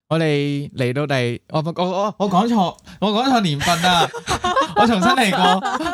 我哋嚟到我講錯年份啊！我重新嚟過。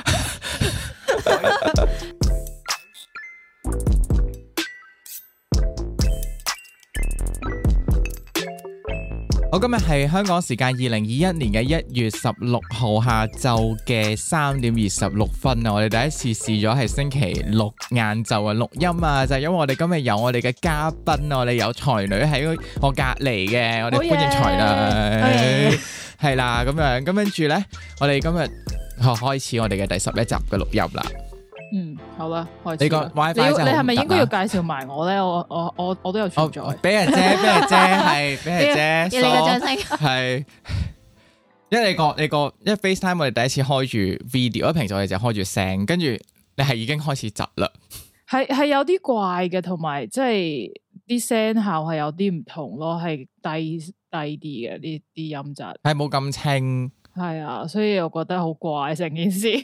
我今日係香港時間2021年嘅1月16號下晝嘅3點26分啊！我哋第一次試咗係星期六晏晝嘅錄音啊，就係因為我哋今日有我哋嘅嘉賓啊，我哋有才女喺我隔離嘅，我哋歡迎才女，係啦咁樣，咁跟住咧，我哋今日開始我哋嘅第11集嘅錄音啦。 好啦，開始。 你個 WiFi 真係好唔得啊！ 你係咪應該要介紹埋我咧？我都有存在。 俾人啫，係俾人啫。 要你個掌聲。 係，因為因為 FaceTime 我哋第一次開住 video，因為平時我哋就開住聲，跟住你係已經開始窒啦。 係有啲怪嘅，同埋即係啲聲效係有啲唔同咯，係低啲嘅啲音質， 係冇咁清。係啊，所以我覺得好怪成件事。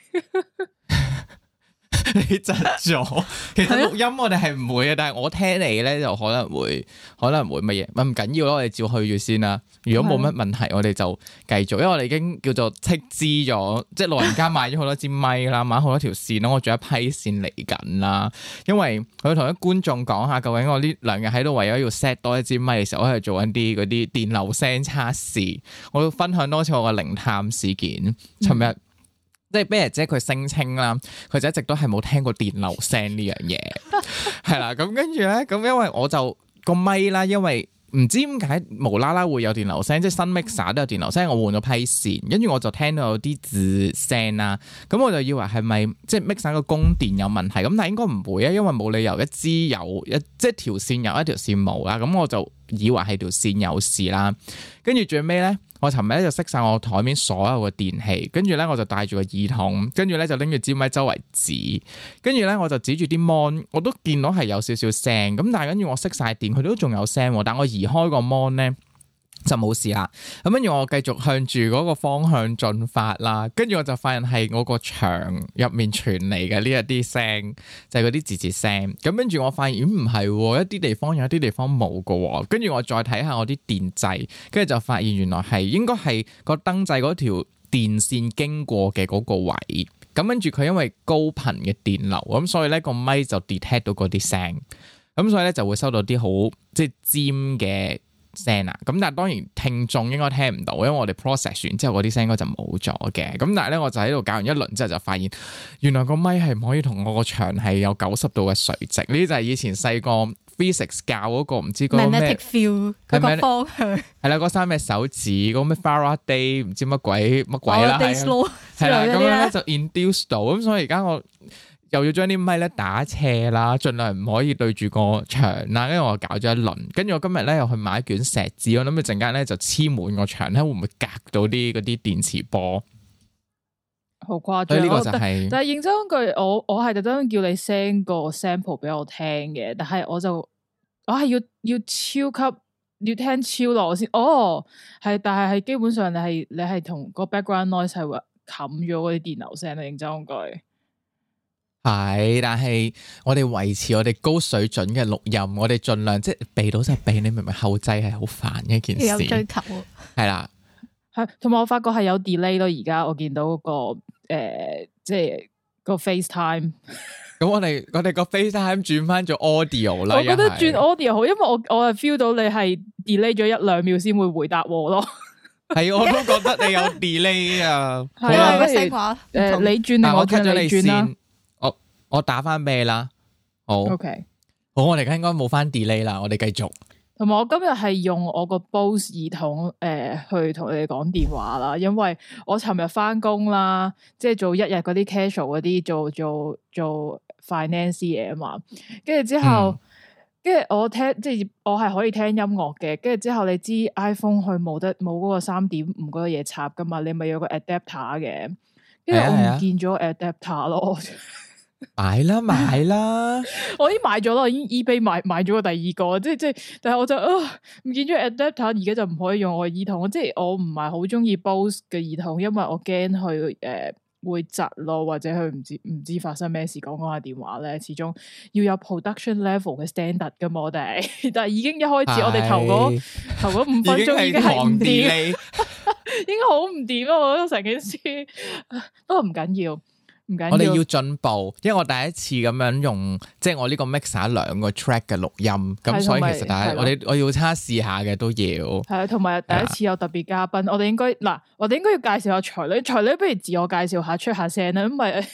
你窒咗，其實錄音我哋係唔會嘅，但係我聽你咧就可能會乜嘢，唔緊要咯，我哋照去住先啦。如果冇乜問題，我哋就繼續，因為我哋已經叫做斥資咗，即係老人家買咗好多支咪啦，買好多條線咯，我仲有一批線嚟緊啦。因為我要同啲觀眾講下，究竟我呢2日喺度為咗要 set 多一支咪嘅時候，我係做緊啲嗰啲電流聲測試，我要分享多次我嘅靈探事件。尋日。即係啤爺姐佢聲稱啦，佢就一直都係冇聽過電流聲呢樣嘢，係啦。咁跟住咧，咁因為我就個咪啦，因為唔知點解無啦啦會有電流聲，即係新 mixer 都有電流聲，我換咗批線，跟住我就聽到有啲字聲啦。咁我就以為係咪即係 mixer 個供電有問題？咁但係應該唔會啊，因為冇理由一支有即係條線有一條線冇啦。咁我就以為係條線有事啦。跟住最尾咧。我尋日咧就熄晒我台面所有嘅電器，跟住咧我就戴住個耳筒，跟住咧就拎住支咪周圍指，跟住咧我就指住啲 mon， 我都見到係有少少聲，咁但係跟住我熄晒電，佢都仲有聲，但我移開個 mon 咧就冇事啦。咁跟住我繼續向住嗰個方向進發啦，跟住我就發現係我個牆入面傳嚟嘅呢一啲聲，就係嗰啲字字聲。咁跟住我發現唔係，一啲地方有，一啲地方冇㗎。跟住我再睇下我啲電掣，跟住就發現原來係應該係個燈掣嗰條電線經過嘅嗰個位。咁跟住佢因為高頻嘅電流，咁所以咧個咪就 detect 到嗰啲聲，咁所以咧就會收到啲好即係尖嘅聲啊，咁但係當然聽眾應該聽唔到，因為我哋 process 完之後嗰啲聲應該就冇咗嘅。咁但係咧，我就喺度搞完一輪之後就發現，原來個咪係唔可以同我個牆係有90度嘅垂直。呢啲就係以前細個 physics 教嗰個唔知嗰個咩 magnetic field 嗰個方向係啦，嗰三隻手指嗰個咩 Faraday 唔知乜鬼啦，係啦，咁樣咧就 induce 到，咁所以而家我又要將啲咪咧打斜啦，盡量唔可以對住個牆啦。跟住我搞咗一輪，跟住我今日咧又去買一卷錫紙，我諗住陣間咧就黐滿個牆咧，會唔會隔到啲嗰啲電磁波？ 好誇張！ 呢個就係， 但係認真句，我係特登叫你 send 個 sample 俾我聽嘅，但係我係要超級要聽超耐先。係，但係基本上你係同個 background noise 係會冚咗嗰啲電流聲啊！認真句。 係，但係我哋維持我哋高水準嘅錄音，我哋盡量即係避到就避，你明唔明？後製係好煩嘅一件事， 有追求係啦， 係同埋我發覺係有 delay 咯。而家我見到嗰個即係個 FaceTime。 咁我哋個 FaceTime 轉翻做 audio 啦。 我覺得轉 audio 好，因為我係 feel 到你係 delay 咗1-2秒先會回答我咯。係， 我都覺得你有 delay 啊。 係啊，不如你轉定我轉你轉啦。 我打翻俾你啦，好 ，OK， 好，我哋而家應該冇翻 delay 啦，我哋繼續。 同埋我今日係用我個 Bose 耳筒去同你哋講電話啦，因為我尋日翻工啦，即係做1日嗰啲 casual 嗰啲做 finance 嘢啊嘛，跟住之後，跟住我聽即係我係可以聽音樂嘅，跟住之後你知 iPhone 佢冇嗰個3.5嗰個嘢插噶嘛，你咪有個 adapter 嘅，跟住我唔見咗 adapter 咯。 買啦， 我已經買咗咯，已經 eBay 買咗個第二個，即係，但係我就唔見咗 adapter，而家就唔可以用我嘅耳筒，即係我唔係好中意 Bose 嘅耳筒，因為我驚佢會窒咯，或者佢唔知發生咩事講下電話咧，始終要有 production level 嘅 standard 噶嘛，我哋，但係已經一開始我哋頭嗰5分鐘已經係唔掂，已經好唔掂咯，我覺得成件事，不過唔緊要。 我哋要進步，因為我第一次咁樣用，即係我呢個 mixer 2個 track 嘅錄音，咁所以其實大家我要測試下嘅都要。係啊， 同埋第一次有特別嘉賓，我哋應該要介紹下才女，才女不如自我介紹下，出下聲啦，因為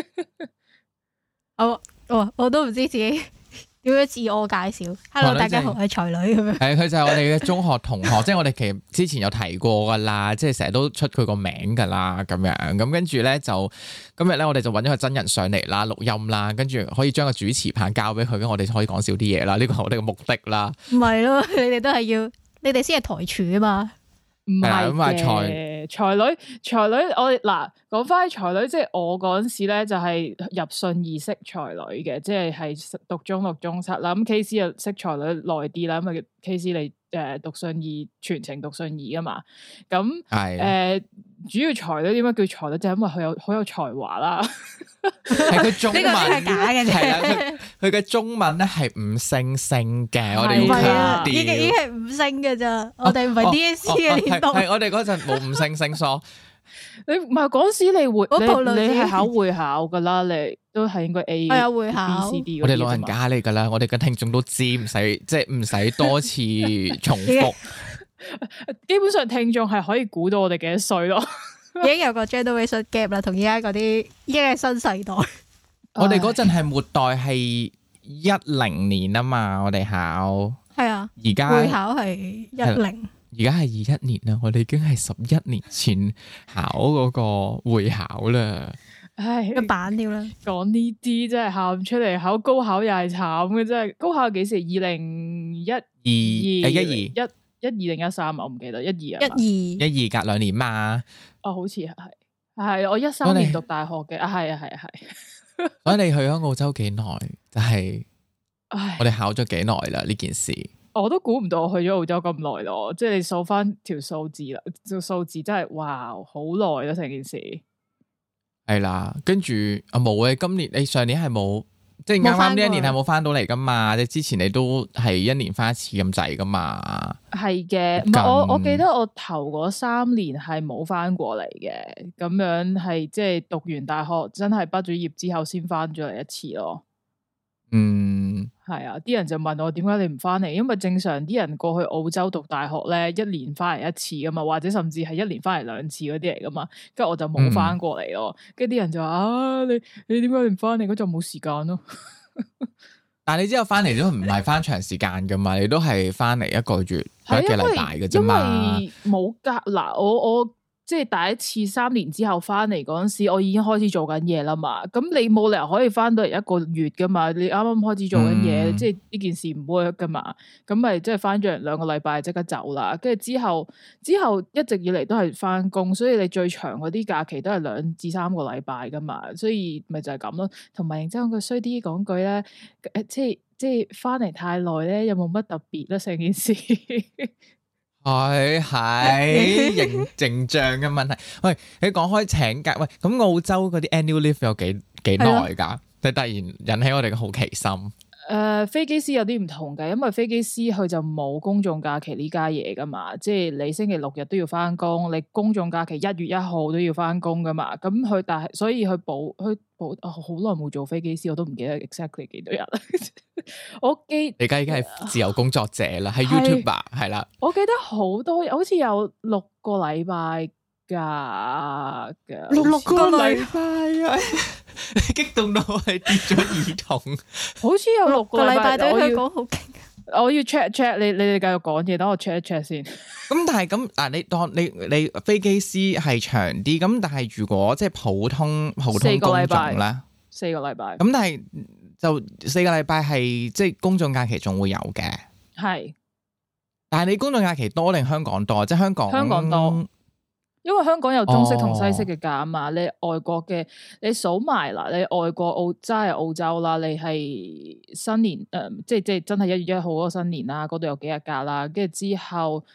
我都唔知自己點樣自我介紹。Hello， 大家好，我係才女咁樣。 係佢就係我哋嘅中學同學，即係我哋其實之前有提過噶啦，即係成日都出佢個名噶啦，咁樣咁跟住咧就今日咧我哋就揾咗個真人上嚟啦，錄音啦，跟住可以將個主持棒交俾佢，咁我哋可以講少啲嘢啦，呢個係我哋嘅目的啦。 唔係咯，你哋都係要，你哋先係台柱啊嘛。 唔係嘅，才女，我哋講翻才女，即係我嗰陣時咧就係入信義識才女嘅，即係讀中六中七啦。咁 KC 又識才女耐啲啦，因為 KC 你讀信義全程讀信義啊嘛。咁主要才女點解叫才女？就係因為佢好有才華啦。 係佢中文係假嘅啫。 係啦，佢嘅中文咧係5星星嘅，我哋要強調。 已經係5星嘅咋，我哋唔係 DSE 嘅年代。 係我哋嗰陣冇5星星疏。 你唔係嗰時你係考會考噶啦，你都係應該 A 係啊會考 B C D 我哋老人家嚟噶啦，我哋嘅聽眾都知，唔使多次重複。 基本上聽眾係可以估到我哋幾多歲咯。 已經有個 generation gap 啦，同而家嗰啲已經係新世代。 我哋嗰陣係末代係10年啊嘛，我哋考係啊， 而家會考係10， 而家係21年啦，我哋已經係11年前考嗰個會考啦。 唉， 一版料啦， 講呢啲真係喊出嚟，考高考又係慘嘅，真係高考幾時？2012、12定13，我唔記得12啊 ，12 隔2年嘛。 哦，好似係我13年讀大學嘅，係。 所以你去咗澳洲幾耐？就係我哋考咗幾耐啦呢件事。 我都估唔到我去咗澳洲咁耐咯，即係你數翻條數字啦，條數字真係哇，好耐啦成件事。係啦，跟住冇嘅，今年你上年係冇。即係啱啱呢一年係冇翻到嚟噶嘛？即係之前你都係1年翻一次咁滯噶嘛？ 係嘅，唔係我記得我頭嗰3年係冇翻過嚟嘅，咁樣係即係讀完大學真係畢咗業之後先翻咗嚟一次咯。係啊，啲人就問我點解你唔翻嚟？因為正常啲人過去澳洲讀大學咧，1年翻嚟一次噶嘛，或者甚至係1年翻嚟2次嗰啲嚟噶嘛。跟住我就冇翻過嚟咯。跟住啲人就話你點解你唔翻嚟？嗰就冇時間咯。 但係你之後翻嚟都唔係翻長時間噶嘛？你都係翻嚟1個月1個禮拜嘅啫嘛。因為冇隔嗱，我即係第一次3年之後翻嚟嗰陣時，我已經開始做緊嘢啦嘛。咁你冇理由可以翻到嚟1個月噶嘛？你啱啱開始做緊嘢，即係呢件事唔 work 噶嘛？咁咪即係翻咗2個禮拜即刻走啦。跟住之後一直以嚟都係翻工，所以你最長嗰啲假期都係2至3個禮拜噶嘛。所以咪就係咁咯。同埋然之後佢衰啲講句咧，即係翻嚟太耐咧，又冇乜特別啦成件事。 係形象嘅問題。喂，你講開請假，喂，咁澳洲嗰啲 annual leave 有幾耐噶？你突然引起我哋嘅好奇心。 飛機師有啲唔同嘅，因為飛機師佢就冇公眾假期呢家嘢噶嘛，即係你星期6日都要翻工，你公眾假期1月1號都要翻工噶嘛，咁佢但係所以佢補好耐冇做飛機師，我都唔記得 exactly 幾多日。你而家已經係自由工作者啦，係 YouTuber 係啦。 我記得好多，好似有6個禮拜㗎 ，6個禮拜啊！ 激動到係跌咗耳筒。 好似有6個禮拜， 對佢講好勁。 我要 check 你哋繼續講嘢，等我 check 一 check 先。 咁但係咁嗱，你當你飛機師係長啲，咁但係如果即係普通工種咧，4 個禮拜。 咁但係就4個禮拜係即係公眾假期仲會有嘅。係。但係你公眾假期多定香港多？即係香港多。因為香港有中式同西式嘅假嘛，你外國嘅你數埋啦，你外國真係澳洲啦，你係新年即係真係1月1號嗰個新年啦，嗰度有幾日假啦，跟住之後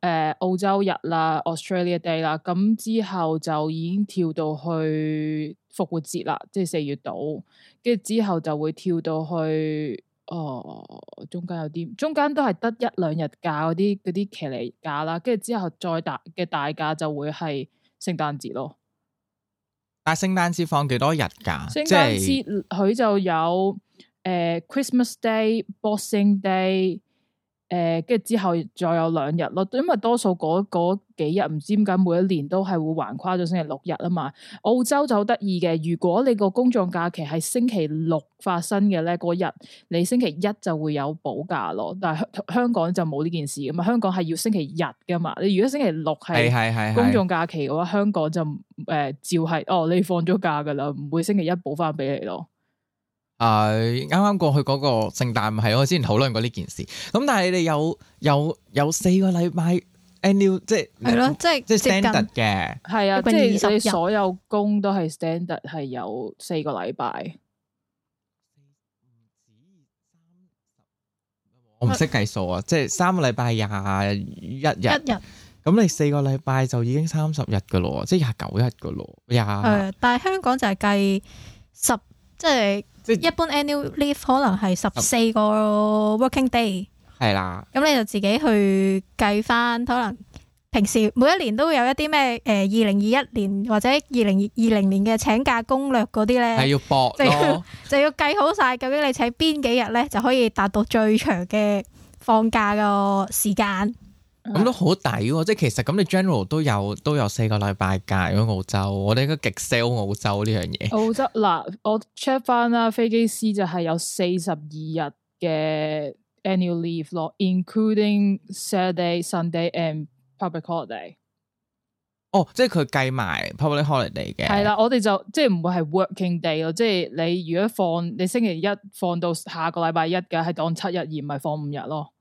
澳洲日啦 Australia Day 啦，咁之後就已經跳到去復活節啦，即係4月度，跟住之後就會跳到去中間都係得1-2日假嗰啲騎呢假啦，跟住之後再大嘅大假就會係聖誕節咯。 但係聖誕節放幾多日假？ 聖誕節佢就有Christmas Day、Boxing Day。跟住之後再有2日咯，因為多數嗰幾日唔知點解每一年都係會橫跨咗星期6日啊嘛。澳洲就好得意嘅，如果你個公眾假期係星期6發生嘅咧，嗰日你星期1就會有補假咯。但係香港就冇呢件事噶嘛，香港係要星期日噶嘛。你如果星期6係公眾假期嘅話，香港就照係你放咗假噶啦，唔會星期1補翻俾你咯。 啱啱過去嗰個聖誕係我之前討論過呢件事，咁但係你哋有4個禮拜 annual 即係係咯，即係 standard 嘅， 係啊，即係你所有工都係 standard 係有4個禮拜。我唔識計數啊，即係3個禮拜21日，咁你4個禮拜就已經30日噶咯，即係29日噶咯， 但係香港就係計10，即係一般 annual leave 可能係14個 working day， 係啦。咁你就自己去計翻，可能平時每一年都會有一啲咩2021年或者2020年嘅請假攻略嗰啲咧，係要搏咯，就要計好晒究竟你請邊幾日咧就可以達到最長嘅放假個時間。咁都好抵喎！即係其實咁，你 general 都有4個禮拜假。如果澳洲，我哋應該極 sell 澳洲呢樣嘢。澳洲嗱，我 check 翻啦，飛機師就係有42日嘅 annual leave 咯 ，including Saturday、Sunday and public holiday。哦，即係佢計埋 public holiday 嘅。係啦，我哋就即係唔會係 working day 咯，即係你如果你星期1放到下個禮拜1嘅，係當7日而唔係放5日咯。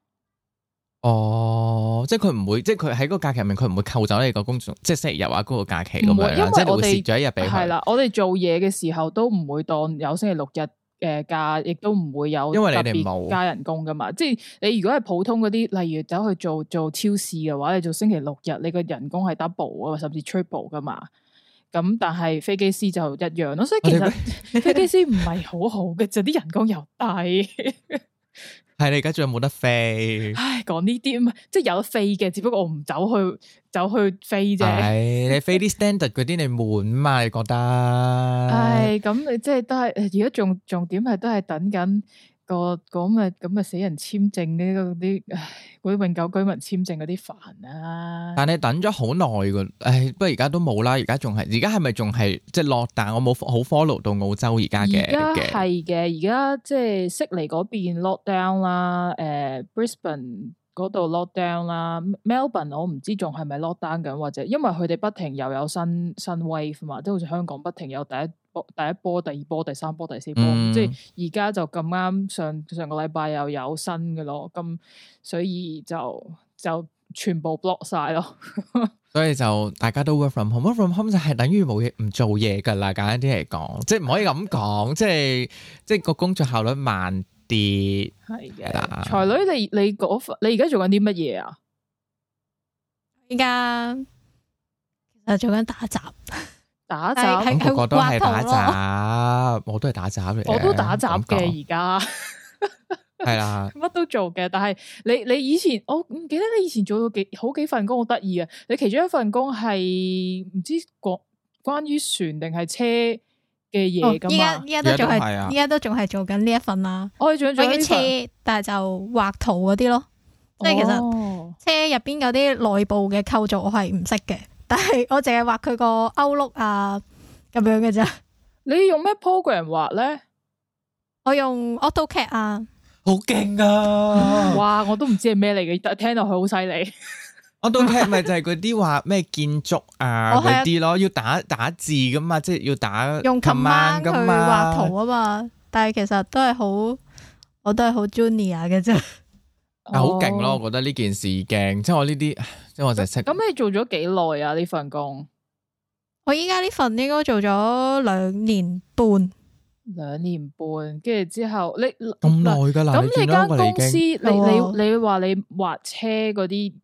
哦，即係佢唔會，即係佢喺嗰個假期入面，佢唔會扣走你個公眾，即係星期日啊嗰個假期咁樣啦，即係你會蝕咗一日俾佢。係啦，我哋做嘢嘅時候都唔會當有星期6日假，亦都唔會有特別加人工噶嘛。即係你如果係普通嗰啲，例如走去做超市嘅話，你做星期6日，你個人工係 double 啊，甚至 triple 噶嘛。咁但係飛機師就一樣咯，所以其實飛機師唔係好好嘅，就啲人工又低。係你而家仲有冇得飛？唉，講呢啲即係有得飛嘅，只不過我唔走去飛啫。係你飛啲 standard 嗰啲，你悶嘛？你覺得？唉，咁你即係都係，而家重點係都係等緊個咁嘅死人簽證呢啲，嗰啲永久居民簽證嗰啲煩啊！但係等咗好耐噶，唉，不過而家都冇啦。而家係咪仲係即係落？但我冇好 follow 到澳洲而家嘅。而家係嘅，而家即係悉尼嗰邊 lock down 啦，Brisbane 嗰度 lock down 啦，Melbourne 我唔知仲係咪 lock down 緊，或者因為佢哋不停又有新 wave 嘛，即係好似香港不停有第一波、第二波、第三波、第四波，即係而家就咁啱上個禮拜又有新嘅咯，咁所以就全部 block 晒咯。所以就大家都 work from home，work from home 就係等於冇嘢唔做嘢噶啦，簡單啲嚟講，即係唔可以咁講，即係個工作效率慢啲。係嘅，才女你而家做緊啲乜嘢啊？而家其實做緊打雜。打雜，咁個個都係打雜，我都係打雜嚟嘅。我都打雜嘅而家，係啦，乜都做嘅。但係你以前，我唔記得你以前做過好幾份工，好得意啊！你其中一份工係唔知關於船定係車嘅嘢噶嘛？依家都仲係做緊呢一份啦。我仲做緊車，但係就畫圖嗰啲咯。即係其實車入邊有啲內部嘅構造，我係唔識嘅。但係我淨係畫佢個歐碌啊咁樣嘅啫。你用咩 program 畫咧？我用 AutoCAD 啊。好勁啊！哇，我都唔知係咩嚟嘅，但係聽落去好犀利。AutoCAD 咪就係嗰啲話咩建築啊嗰啲咯，要打字噶嘛，即係要打用 command 去畫圖啊嘛。但係其實都係我都係好 junior 嘅啫。好勁咯！我覺得呢件事勁，即係我呢啲，即係我就識。咁你做咗幾耐啊？呢份工？我依家呢份應該做咗2年半。2年半，跟住之後你咁耐噶啦？咁你間公司，你話你畫車嗰啲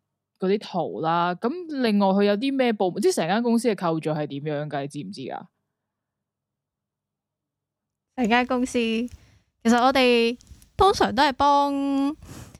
啲圖啦。咁另外佢有啲咩部門，即係成間公司嘅構造係點樣㗎？你知唔知啊？ 成間公司其實我哋通常都係幫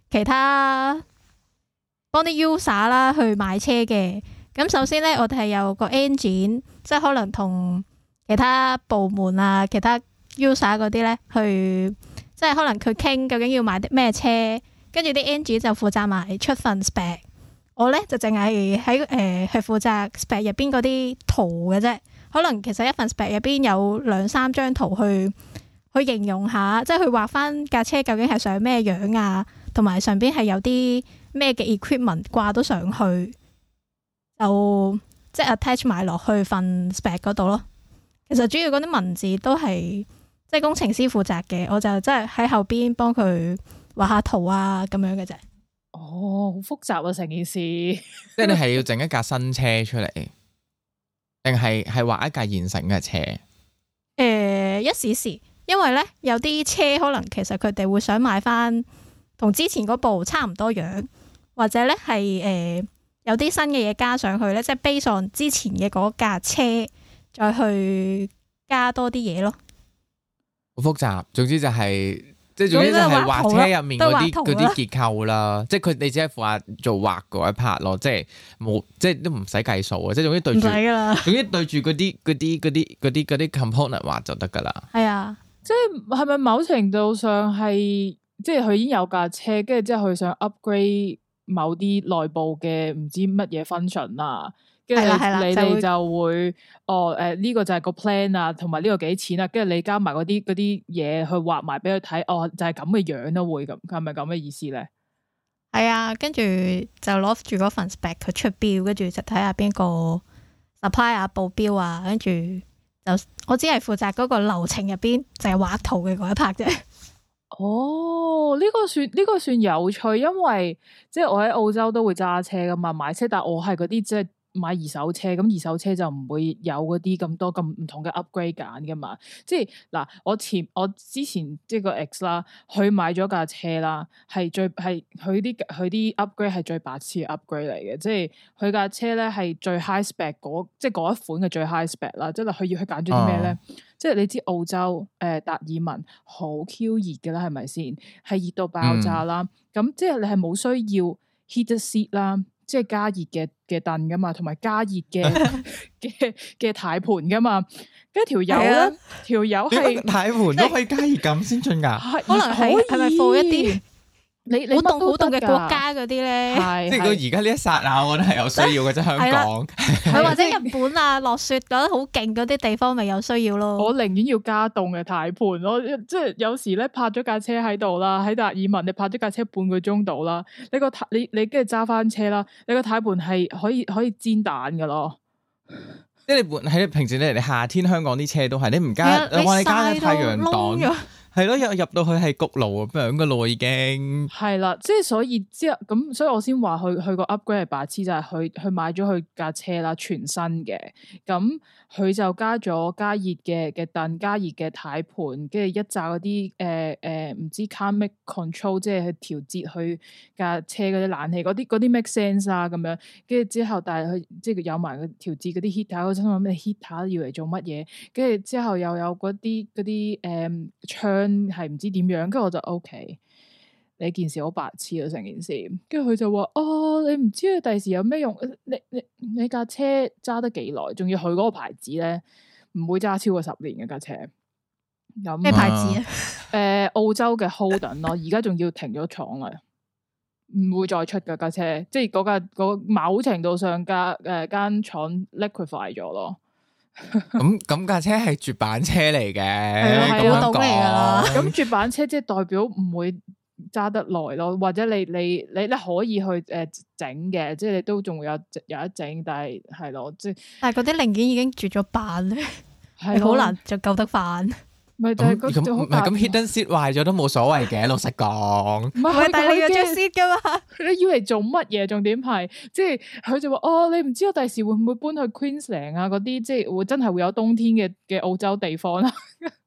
啲 user 啦去買車嘅。咁首先咧，我哋係有個 engine，即係可能同其他部門啊、其他 user 嗰啲咧去，即係可能佢傾究竟要買啲咩車，跟住啲 engine 就負責埋出份 spec。我咧就淨係喺係負責 spec 入邊嗰啲圖嘅啫。可能其實一份 spec 入邊有2-3張圖去形容下，即係去畫翻架車究竟係上咩樣啊，同埋上邊係有啲咩嘅 equipment 掛到上去。就即係 attach 埋落去份 spec 嗰度咯。其實主要嗰啲文字都係即係工程師負責嘅，我就即係喺後邊幫佢畫下圖啊咁樣嘅啫。 哦，好複雜啊成件事。 即係你係要整一架新車出嚟，定係畫一架現成嘅車？ 一時時，因為咧有啲車可能其實佢哋會想買翻同之前嗰部差唔多樣，或者咧係有啲新嘅嘢加上去咧，即係 base on 之前嘅嗰架車，再去加多啲嘢咯。好複雜，總之就係即係總之就係畫車入面嗰啲結構啦。即係佢你只係負責做畫嗰一 part 咯，即係冇即係都唔使計數啊。即係總之對住，總之對住嗰啲 component 畫就得噶啦。 係啊， 即係咪某程度上係即係佢已經有架車，跟住之後佢想 upgrade。某啲內部嘅唔知乜嘢 function 啊，跟住你哋就會呢個就係個 plan 啊，同埋呢個幾錢啊，跟住你加埋嗰啲嘢去畫埋俾佢睇，就係咁嘅樣咯，會咁係咪咁嘅意思咧？ 係啊，跟住就攞住嗰份 spec 佢出標，跟住就睇下邊個 supplier 報標啊，跟住就我只係負責嗰個流程入邊就係畫圖嘅嗰一 part 啫。 哦，呢個算有趣，因為即係我喺澳洲都會揸車噶嘛，買車，但係我係嗰啲即係買二手車，咁二手車就唔會有嗰啲咁多咁唔同嘅 upgrade 揀噶嘛。即係嗱，我之前即係個 ex 啦，佢買咗架車啦，係佢啲 upgrade 係最白痴嘅 upgrade 嚟嘅，即係佢架車咧係最 high spec 即係嗰一款嘅最 high spec 啦，即係佢要去揀咗啲咩咧？即係你知澳洲達爾文好 Q 熱嘅啦，係咪先？係熱到爆炸啦！咁即係你係冇需要 heated seat 啦，即係加熱嘅凳噶嘛，同埋加熱嘅軚盤噶嘛。跟住條友係軚盤都可以加熱咁先進噶， 可能係咪放一啲？你好凍嘅國家嗰啲咧， 即係佢而家呢一剎那，我覺得係有需要嘅，即係香港， 佢或者日本啊落雪覺得好勁嗰啲地方，咪有需要咯。 我寧願要加凍嘅軚盤咯，即係有時咧泊咗架車喺度啦，喺達爾文你泊咗架車半個鐘度啦，你跟住揸翻車啦，你個軚盤係可以煎蛋噶咯。 即係你喺平時你夏天香港啲車都係你唔加，你話你加咗太陽擋。係咯，入到去係焗爐咁樣噶咯，已經係啦，即係所以之後咁，所以我先話佢個 upgrade 係白痴，就係佢買咗佢架車啦，全新嘅，咁佢就加咗加熱嘅凳，加熱嘅軚盤，跟住一紮嗰啲唔知 climate control，即係去調節佢架車嗰啲冷氣嗰啲 make sense 啊咁樣，跟住之後但係佢即係有埋個調節嗰啲 heater，我心諗咩 heater 要嚟做乜嘢？跟住之後又有嗰啲窗。係唔知點樣，跟住我就 OK，你件事好白痴啊成件事，跟住佢就話你唔知佢第時有咩用，你架車揸得幾耐，仲要佢嗰個牌子咧，唔會揸超過10年嘅架車。咁咩牌子啊？ 澳洲嘅 Holden 咯，而家仲要停咗廠啦，唔會再出嘅架車，即係嗰某程度上間廠 liquefy 咗咯。 咁架車係絕版車嚟嘅， 係古董嚟噶啦。 咁絕版車即係代表唔會揸得耐咯，或者你可以去整嘅，即係你都仲會有一整，但係咯，即係但係嗰啲零件已經絕咗版咧，係好難就救得翻。 咪就係咁 hidden seat 壞咗都冇所謂嘅，老實講。 唔係，但係你有張 seat 噶嘛？ 你要嚟做乜嘢？重點係，即係佢就話你唔知我第時會唔會搬去 Queensland 啊？嗰啲即係會真係會有冬天嘅澳洲地方啦。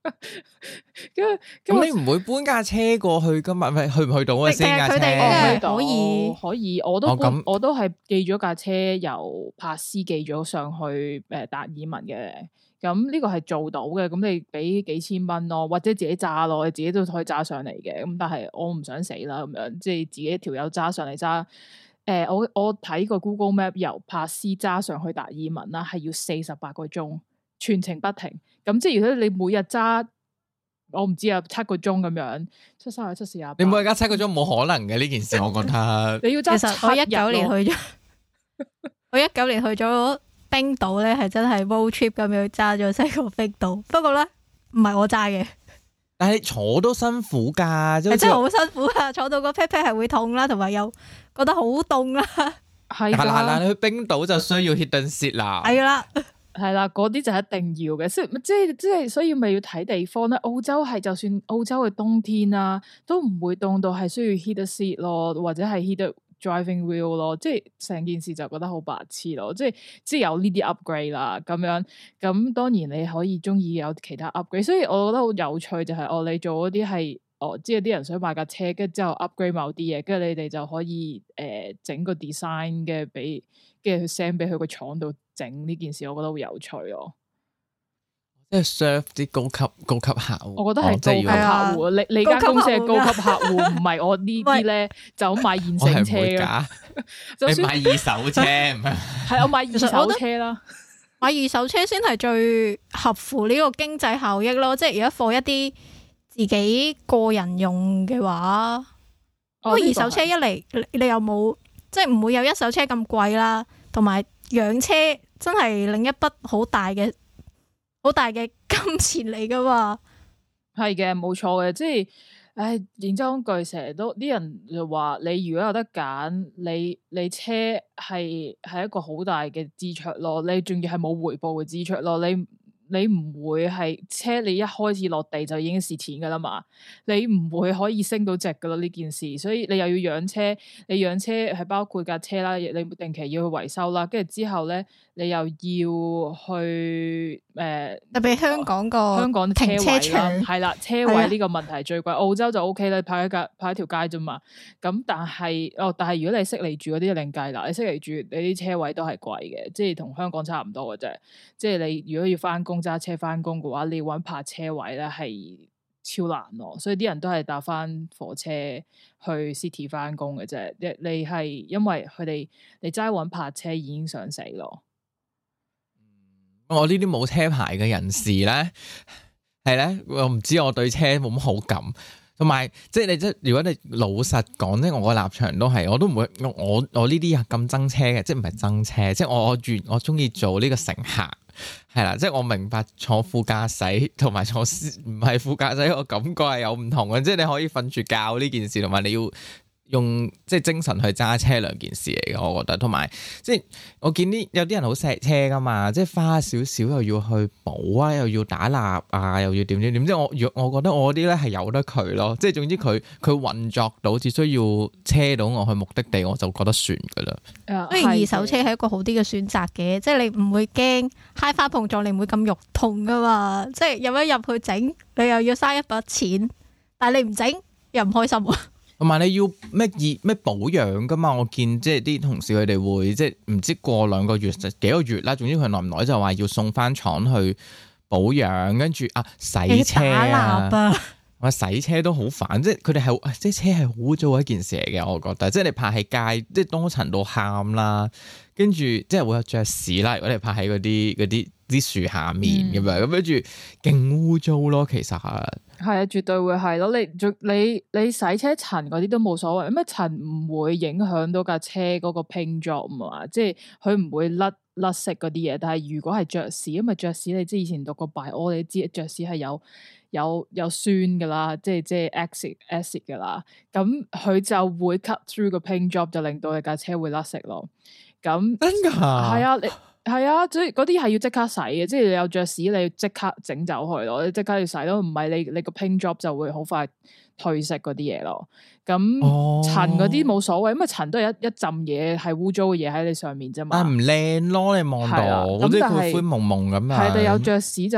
咁你唔會搬架車過去噶嘛？去唔去到啊？先架車可以，我都係寄咗架車由柏斯寄咗上去達爾文嘅。咁呢個係做到嘅，咁你俾幾千蚊咯，或者自己揸咯，你自己都可以揸上嚟嘅。咁但係我唔想死啦，咁樣即係自己條友揸上嚟揸。我睇過 Google Map 由柏斯揸上去達爾文啦，係要48個鐘，全程不停。咁即係如果你每日揸，我唔知啊，7個鐘咁樣，7、3、7、4、8。你每日揸7個鐘冇可能嘅呢件事，我覺得。 你要揸。 其實我19年去咗，我19年去咗冰島咧，係真係 road trip 咁樣揸咗成個冰島。不過咧，唔係我揸嘅。 但係坐都辛苦噶， 真係好辛苦啊！坐到個 pat pat 係會痛啦，同埋又覺得好凍啦。 係嗱，你去冰島就需要 hidden seat 啦。 係啦，係啦，嗰啲就一定要嘅。即係，所以咪要睇地方咧。澳洲係就算澳洲嘅冬天啊，都唔會凍到係需要 hidden seat 咯，或者係 hidden driving wheel 咯。即係成件事就覺得好白痴咯。即係有呢啲 upgrade 啦，咁樣咁當然你可以中意有其他 upgrade。所以我覺得好有趣就係你做嗰啲係。即係啲人想買架車，跟住之後 upgrade 某啲嘢，跟住你哋就可以整個 design 嘅俾，跟住去 send 俾佢個廠度整呢件事，我覺得好有趣咯。 即係 serve 啲高級客戶， 我覺得係高級客戶。你間公司係高級客戶，唔係我呢啲咧就買現成車嘅。 你買二手車唔係？ 係我買二手車啦， 買二手車先係最合乎呢個經濟效益咯。即係如果放一啲自己個人用嘅話，不過二手車一嚟你又冇，即係唔會有一手車咁貴啦，同埋養車真係另一筆好大嘅金錢嚟噶嘛。 係嘅，冇錯嘅，即係，認真講句，成日都啲人就話，你如果有得揀，你車係一個好大嘅支出咯，你仲要係冇回報嘅支出咯，你唔會係車，你一開始落地就已經蝕錢噶啦嘛，你唔會可以升到值噶咯呢件事，所以你又要養車，你養車係包括架車啦，你定期要去維修啦，跟住之後咧，你又要去特別香港停車場係啦，車位呢個問題最貴，澳洲就 OK 啦，派一條街啫嘛，咁但係如果你悉尼住嗰啲就另計啦，你悉尼住你啲車位都係貴嘅，即係同香港差唔多嘅啫，即係你如果要翻工揸車翻工嘅話，你要搵泊車位咧係超難咯，所以啲人都係搭翻火車去 city 翻工嘅啫。你係因為佢哋你齋搵泊車已經想死咯。 我呢啲冇車牌嘅人士咧，係咧，我唔知我對車冇乜好感。同埋，即係如果你老實講，即係我個立場都係，我都唔會，我呢啲咁憎車嘅，即係唔係憎車，即係我中意做呢個乘客，係啦，即係我明白坐副駕駛同埋坐唔係副駕駛個感覺係有唔同嘅，即係你可以瞓住覺呢件事，同埋你要用即係精神去揸車兩件事嚟嘅，我覺得。同埋即係我見有啲人好錫車噶嘛，即係花少少又要去補啊，又要打蠟啊，又要點，即係我覺得我啲咧係由得佢咯，即係總之佢運作到，只需要車到我去目的地，我就覺得算噶啦。 所以二手車係一個好啲嘅選擇嘅，即係你唔會驚揩花碰撞，你唔會咁肉痛噶嘛。即係入一入去整，你又要嘥一筆錢，但係你唔整又唔開心。 同埋你要咩保養噶嘛？我見即係啲同事佢哋會即係唔知過2個月幾個月啦，總之佢耐唔耐就話要送翻廠去保養，跟住洗車我洗車都好煩，即係佢哋係即係車係好污糟一件事嚟嘅，我覺得。即係你泊喺街，即係多塵到喊啦，跟住即係會有雀屎啦。如果你泊喺嗰啲樹下面咁樣，咁跟住勁污糟咯，其實係啊， 絕對會係咯。你洗車塵嗰啲都冇所謂，咩塵唔會影響到架車嗰個 paint job 嘛，即係佢唔會甩色嗰啲嘢。但係如果係雀屎，因為雀屎你知以前讀過 bio，你知雀屎係有酸噶啦，即係 acid 噶啦，咁佢就會 cut through 個 paint job， 就令到你架車會甩色咯。咁真噶？ 係啊，係啊，所以嗰啲係要即刻洗嘅，即係你有雀屎，你要即刻整走佢咯，你即刻要洗咯，唔係你個 paint job 就會好快褪色嗰啲嘢咯。咁塵嗰啲冇所謂，因為塵都係一浸嘢係污糟嘅嘢喺你上面啫嘛。 唔靚咯，你望到，即係灰灰蒙蒙咁啊。 係，但有雀屎就係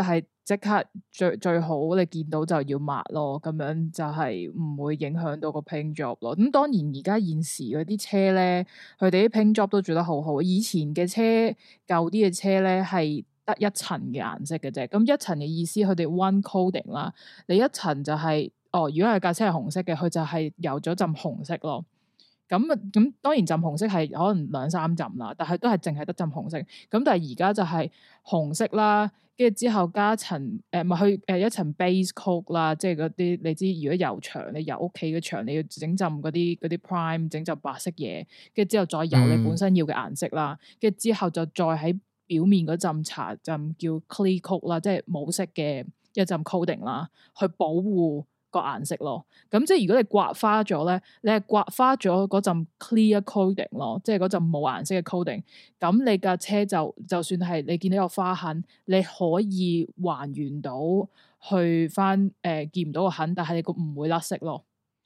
即刻最好你見到就要抹咯，咁樣就係唔會影響到個 paint job 咯。咁當然而家現時嗰啲車咧，佢哋啲 paint job 都做得好好。以前嘅車舊啲嘅車咧係得一層嘅顏色嘅啫。咁一層嘅意思，佢哋 one coating 啦。你一層就係如果係架車係紅色嘅，佢就係油咗浸紅色咯。咁當然浸紅色係可能2-3浸啦，但係都係淨係得浸紅色。咁但係而家就係紅色啦，跟住之後加層一層 base coat 啦，即係嗰啲你知，如果油牆你油屋企嘅牆，你要整浸嗰啲 prime 整浸白色嘢，跟住之後再油你本身要嘅顏色啦，跟住之後就再喺表面嗰浸搽浸叫 clear coat 啦，即係冇色嘅一浸 coating 啦，去保護個顏色咯。咁即係如果你刮花咗咧，你係刮花咗嗰陣 clear coating 咯，即係嗰陣冇顏色嘅 coating。咁你架車就算係你見到有花痕，你可以還原到去翻見唔到個痕，但係你個唔會甩色咯。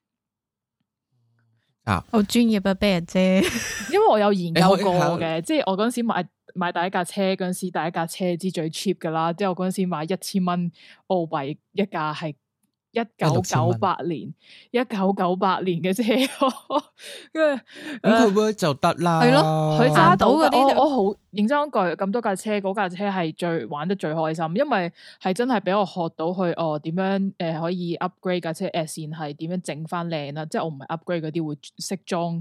好專業啊，俾人啫。 因為我有研究過嘅，即係我嗰陣時買第一架車嗰陣時，第一架車知最 cheap 噶啦，即係我嗰陣時買1000蚊澳幣一架係。1998年嘅車，跟住咁佢就得啦。 係咯，佢揸到嗰啲， 我好認真講句，咁多架車，嗰架車係最玩得最開心，因為係真係俾我學到去點樣可以 upgrade 架車線係點樣整翻靚啦。即係我唔係 upgrade 嗰啲會識裝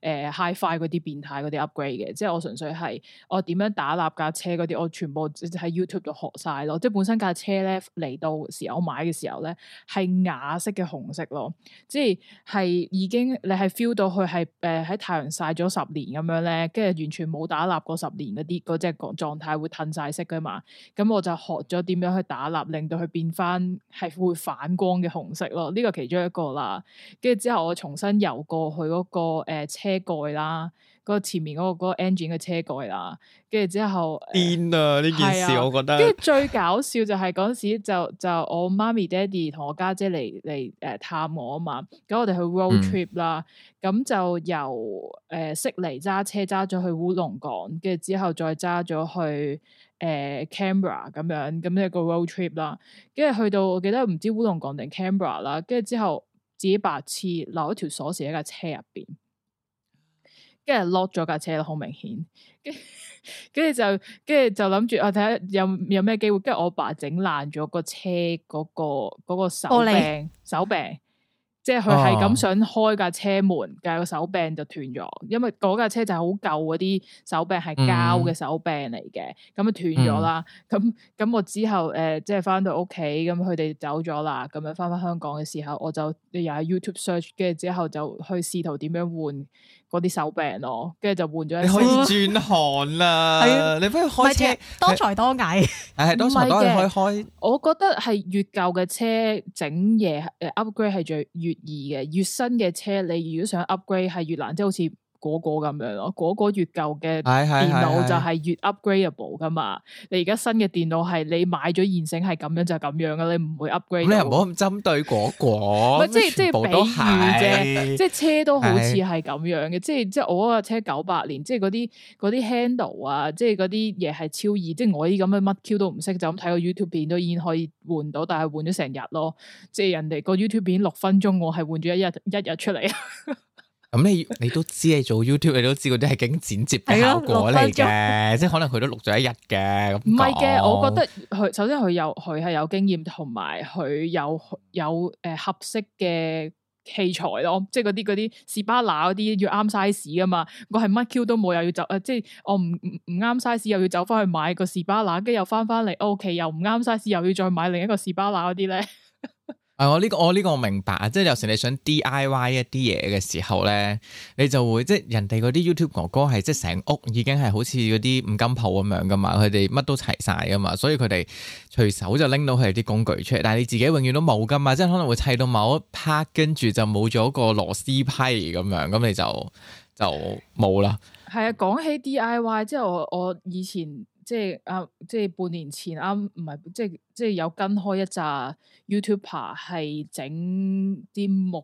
hi-fi 嗰啲變態嗰啲 upgrade 嘅，即係我純粹係我點樣打蠟架車嗰啲，我全部喺 YouTube 度學晒咯。即係本身架車咧嚟到時候我買嘅時候咧係啞色嘅紅色咯，即係已經你係 feel 到佢係喺太陽曬咗10年咁樣咧，跟住完全冇打蠟過10年嗰隻狀態會褪晒色噶嘛。咁我就學咗點樣去打蠟，令到佢變翻係會反光嘅紅色咯。呢個其中一個啦，跟住之後我重新油過去嗰個車蓋啦。嗰個前面嗰個 engine 嘅車蓋啦，跟住之後癲啊！呢件事我覺得， 跟住最搞笑就係嗰陣時就我媽咪爹哋同我家姐嚟探我啊嘛，咁我哋去 road trip 啦，咁就由悉尼揸車揸咗去烏龍港，跟住之後再揸咗去Canberra 咁樣，咁一個 road trip 啦，跟住去到我記得唔知烏龍港定 Canberra 啦，跟住之後自己白痴留一條鎖匙喺架車入邊。跟住 lock 咗架車咯，好明顯。跟住就諗住睇下有咩機會。跟住我爸整爛咗個車嗰個手柄，即係佢係咁想開架車門，但係個手柄就斷咗。因為嗰架車就係好舊嗰啲手柄係膠嘅手柄嚟嘅，咁啊斷咗啦。咁我之後即係翻到屋企，咁佢哋走咗啦，咁樣翻香港嘅時候，我就又喺 YouTube search，跟住之後就去試圖點樣換嗰啲手柄咯，跟住就換咗。你可以轉行啦，你不如開車多才多藝。 係多才多藝可以開。 我覺得係越舊嘅車整嘢upgrade 係越易嘅，越新嘅車你如果想 upgrade 係越難，即係好似嗰個咁樣咯。嗰個越舊嘅電腦就係越 upgradeable 噶嘛。你而家新嘅電腦係你買咗現成係咁樣就咁樣噶，你唔會 upgrade。 你又唔好咁針對嗰個， 即係比喻啫。即係車都好似係咁樣嘅，即係我嗰架車98年，即係嗰啲 handle 啊，即係嗰啲嘢係超易。即係我啲咁嘅乜 Q 都唔識，就咁睇個 YouTube 片都已經可以換到，但係換咗成日咯。即係人哋個 YouTube 片6分鐘，我係換咗一日出嚟。 咁你都知你做 YouTube， 你都知嗰啲係經剪接嘅效果嚟嘅，即係可能佢都錄咗一日嘅。唔係嘅， 我覺得佢首先佢係有經驗，同埋佢有合適嘅器材咯，即係嗰啲士巴拿嗰啲要啱 size 噶嘛。我係乜 Q 都冇，又要走即係我唔啱 size，又要走翻去買個士巴拿，跟住又翻嚟 OK，又唔啱 size，又要再買另一個士巴拿嗰啲咧。 我呢個我明白啊，即係有時你想 DIY 一啲嘢嘅時候咧，你就會即係人哋嗰啲 YouTube 哥哥係即係成屋已經係好似嗰啲五金鋪咁樣噶嘛，佢哋乜都齊晒噶嘛，所以佢哋隨手就拎到佢哋啲工具出嚟，但係你自己永遠都冇噶嘛，即係可能會砌到某一 part 跟住就冇咗個螺絲批咁樣，咁你就冇啦。係啊，講起 DIY，即係我以前。即係半年前唔係即係有跟開一紮 YouTuber 係整啲木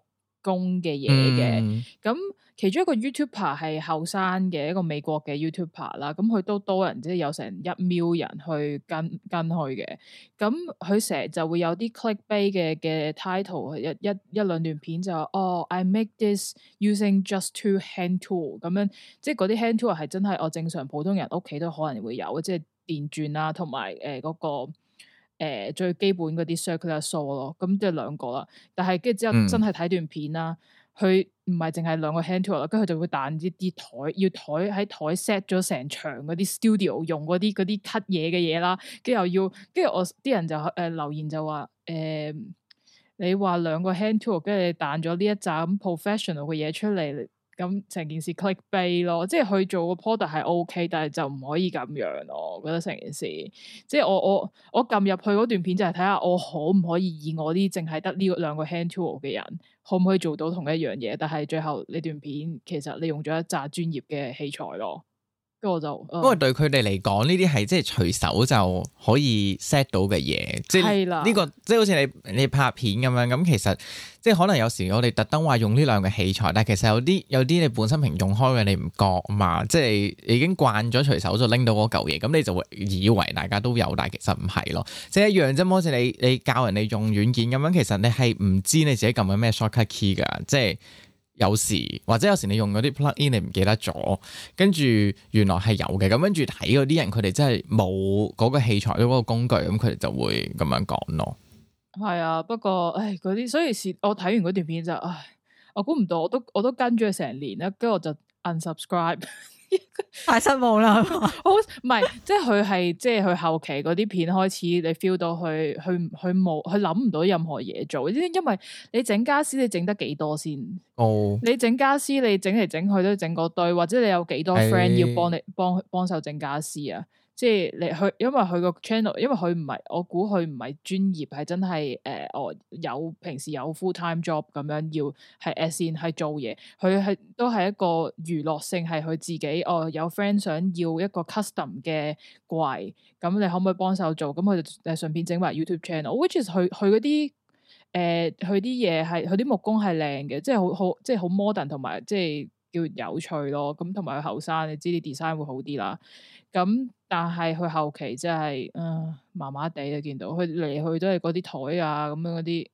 工嘅嘢嘅。咁其中一個 YouTuber 係後生嘅一個美國嘅 YouTuber 啦，咁佢都多人，即係有成1 million 人去跟佢嘅。咁佢成日就會有啲 clickbait 嘅 title，一兩段片就I make this using just 2 hand tool 咁樣，即係嗰啲 hand tool 係真係我正常普通人屋企都可能會有，即係電鑽啦，同埋嗰個最基本嗰啲 circular saw 咯，咁即係2個啦。但係跟住之後真係睇段片啦。佢唔係淨係2個 hand tool 啦，跟住佢就會彈啲台，要台喺台 set 咗成場嗰啲 studio 用嗰啲 cut 嘢嘅嘢啦，跟住又要，跟住我啲人就留言就話你話2個 hand tool，跟住你彈咗呢一集咁 professional 嘅嘢出嚟，咁成件事 clickbait 咯，即係佢做個 product 係 OK， 但係就唔可以咁樣咯。我覺得成件事，即係我撳入去嗰段片就係睇下我可唔可以以我啲淨係得呢2個 hand tool 嘅人，可唔可以做到同一樣嘢？但係最後呢段片其實你用咗一紮專業嘅器材咯。跟住我就， 不過對佢哋嚟講，呢啲係即係隨手就可以 set 到嘅嘢，即係呢個即係好似你拍片咁樣，咁其實即係可能有時我哋特登話用呢2個器材，但係其實有啲你本身平用開嘅你唔覺嘛，即係已經慣咗隨手就拎到嗰嚿嘢，咁你就會以為大家都有，但係其實唔係咯，即係一樣啫。好似你教人哋用軟件咁樣，其實你係唔知你自己撳緊咩 shortcut key 㗎，即係。有時或者有時你用嗰啲 plug-in 你唔記得咗，跟住原來係有嘅，咁跟住睇嗰啲人佢哋真係冇嗰個器材嗰個工具，咁佢哋就會咁樣講咯。 係啊，不過嗰啲，所以我睇完嗰段片就我估唔到，我都跟咗佢成年啦，跟住我就 unsubscribe。 太失望啦！ 好唔係，即係佢係即係佢後期嗰啲片開始，你 feel 到佢冇佢諗唔到任何嘢做，因為你整家私你整得幾多先？你整家私你整嚟整去都整嗰堆，或者你有幾多 friend 要幫手整家私啊？即係因為佢個 channel， 因為佢唔係，我估佢唔係專業，係真係有平時有 full time job 咁樣要係 as in 係做嘢，佢都係一個娛樂性，係佢自己有 friend 想要一個 custom 嘅櫃，咁你可唔可以幫手做？咁佢就順便整埋 YouTube channel，which is 佢嗰啲佢啲嘢係佢啲木工係靚嘅，即係好即係好 modern 同埋即係叫有趣咯。咁同埋佢後生，你知啲 design 會好啲啦。咁但係佢後期真係麻麻地啊，見到佢嚟去都係嗰啲台啊咁樣嗰啲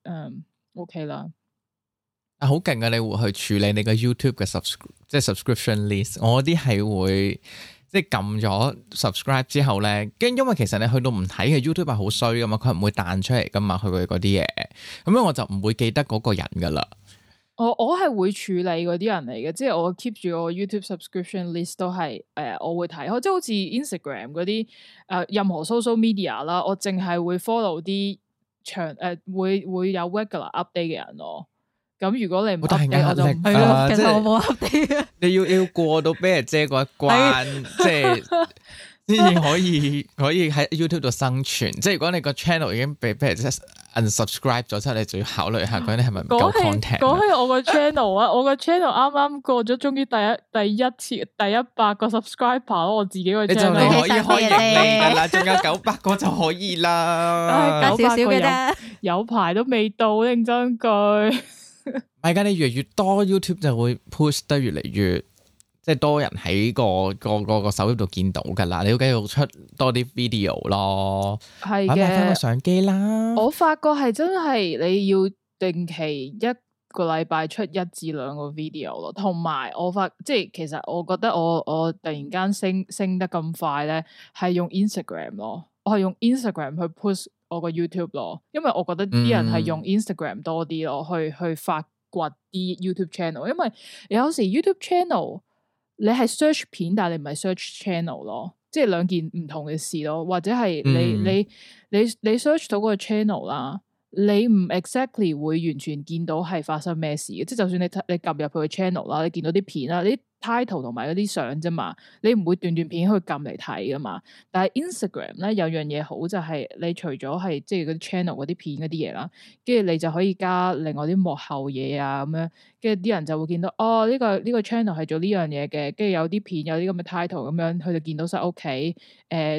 OK 啦。 好勁啊！你會去處理你個 YouTube 嘅即係 subscription list。我啲係會即係撳咗 subscribe 之後咧，跟因為其實你去到唔睇嘅 YouTube 係好衰噶嘛，佢唔會彈出嚟噶嘛，佢嗰啲嘢，咁樣我就唔會記得嗰個人噶啦。 我係會處理嗰啲人嚟嘅，即係我 keep 住我 YouTube subscription list 都係我會睇，即係好似 Instagram 嗰啲任何 social media 啦，我淨係會 follow 啲會有 regular update 嘅人咯。咁如果你唔 update 我就係咯， 其實我冇 update。 你要過到俾人姐嗰一關，即係先至可以喺 YouTube 度生存。即係如果你個 channel 已經俾人 unsubscribe 咗之後，你就要考慮下嗰啲係咪唔夠 content。 講起我個 channel 啊，我個 channel 啱啱過咗，終於第一次第100個 subscriber， 我自己個 channel 你可以開盈利噶啦，仲有900個就可以啦， 少少嘅啫，有排都未到，認真句。 唔係噶，你越嚟越多 YouTube 就會 push 得越嚟越。即係多人喺個手機度見到㗎啦，你要繼續出多啲 video 咯， 係嘅， 買翻個相機啦。 我發覺係真係你要定期1個禮拜出1至2個 video 咯，同埋即係其實我覺得我突然間升得咁快咧，係用 Instagram 咯，我係用 Instagram 去 push 我個 YouTube 咯，因為我覺得啲人係用 Instagram 多啲咯，去發掘啲 YouTube channel， 因為有時 YouTube channel。你係 search 片，但係你唔係 search channel 咯，即係兩件唔同嘅事咯。或者係你 search 到嗰個 channel 啦，你唔 exactly 會完全見到係發生咩事嘅。即係就算你撳入去個 channel 啦，你見到啲片啦，你 title 同埋嗰啲相啫嘛，你唔會段片去撳嚟睇噶嘛。但係 Instagram 咧有樣嘢好就係，你除咗係即係嗰啲 channel 嗰啲片嗰啲嘢啦，跟住你就可以加另外啲幕後嘢啊咁樣，跟住啲人就會見到呢個 channel 係做呢樣嘢嘅，跟住有啲片有啲咁嘅 title 咁樣，佢就見到晒屋企，都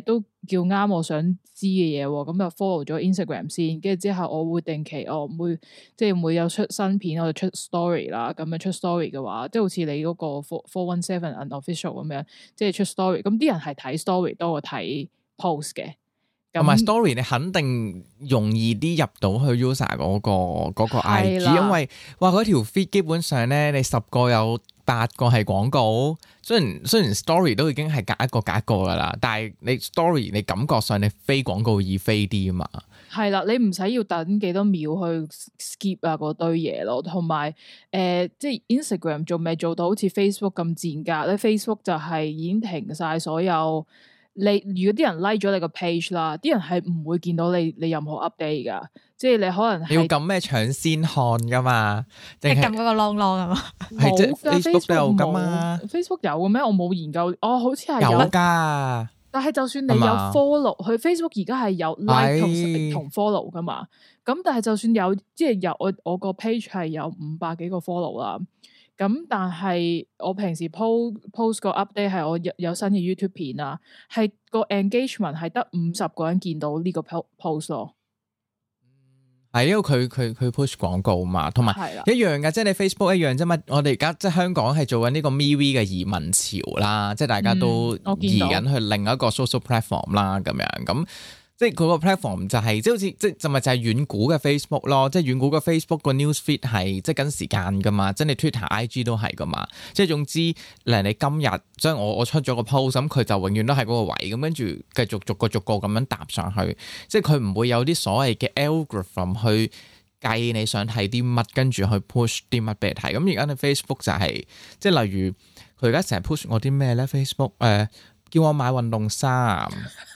叫啱我想知嘅嘢喎，咁就 follow 咗 Instagram 先，跟住之後我會定期每有出新片我就出 story 啦，咁樣出 story 嘅話，即係好似你嗰個417 unofficial 咁樣，即係出 story，咁啲人係睇 story 多過睇 post 嘅。 同埋 story 你肯定容易啲入到去 user 嗰個 IG，因為哇嗰條 feed 基本上咧，你10個有8個係廣告。雖然 story 都已經係隔一個噶啦，但係你 story 你感覺上你飛廣告易飛啲啊嘛。 係啦，你唔使要等幾多秒去 skip 啊嗰堆嘢咯，同埋即係 Instagram 仲未做到好似 Facebook 咁賤格咧。Facebook 就係已經停晒所有。如果啲人 like 咗你個 page 啦，啲人係唔會見到你任何 update 噶，即係你可能你要撳咩搶先看噶嘛？ 你撳嗰個 long 係嘛？ 係即係 Facebook 都有噶嘛 ？Facebook 有嘅咩？我冇研究，好似係有噶。 但係就算你有 follow，佢 Facebook 而家係有 like 同 follow 噶嘛？咁但係就算有，即係有我個 page 係有500幾個 follow 啦。咁但係我平時 post 個 update 係我有新嘅 YouTube 片啊，係個 engagement 係得50個人見到呢個 post 咯。 係因為佢 push 廣告嘛，同埋一樣嘅，即係你 Facebook 一樣啫嘛。我哋而家即係香港係做緊呢個 MeWe 嘅移民潮啦，即係大家都移緊去另一個 social platform 啦，咁樣咁。即係佢個 platform 就係、是、即係好似即係就咪就係遠古嘅 Facebook 咯，即係遠古嘅 Facebook 個 newsfeed 係即係跟時間噶嘛，即係你 Twitter、IG 都係噶嘛，即係總之你今日即係我出咗個 post 咁，佢就永遠都喺嗰個位咁，跟住繼續逐個咁樣搭上去，即係佢唔會有啲所謂嘅 algorithm 去計你想睇啲乜，跟住去 push 啲乜俾你睇。咁而家你 Facebook 就係、是、即係例如佢而家成日 push 我啲咩咧 Facebook 叫我買運動衫，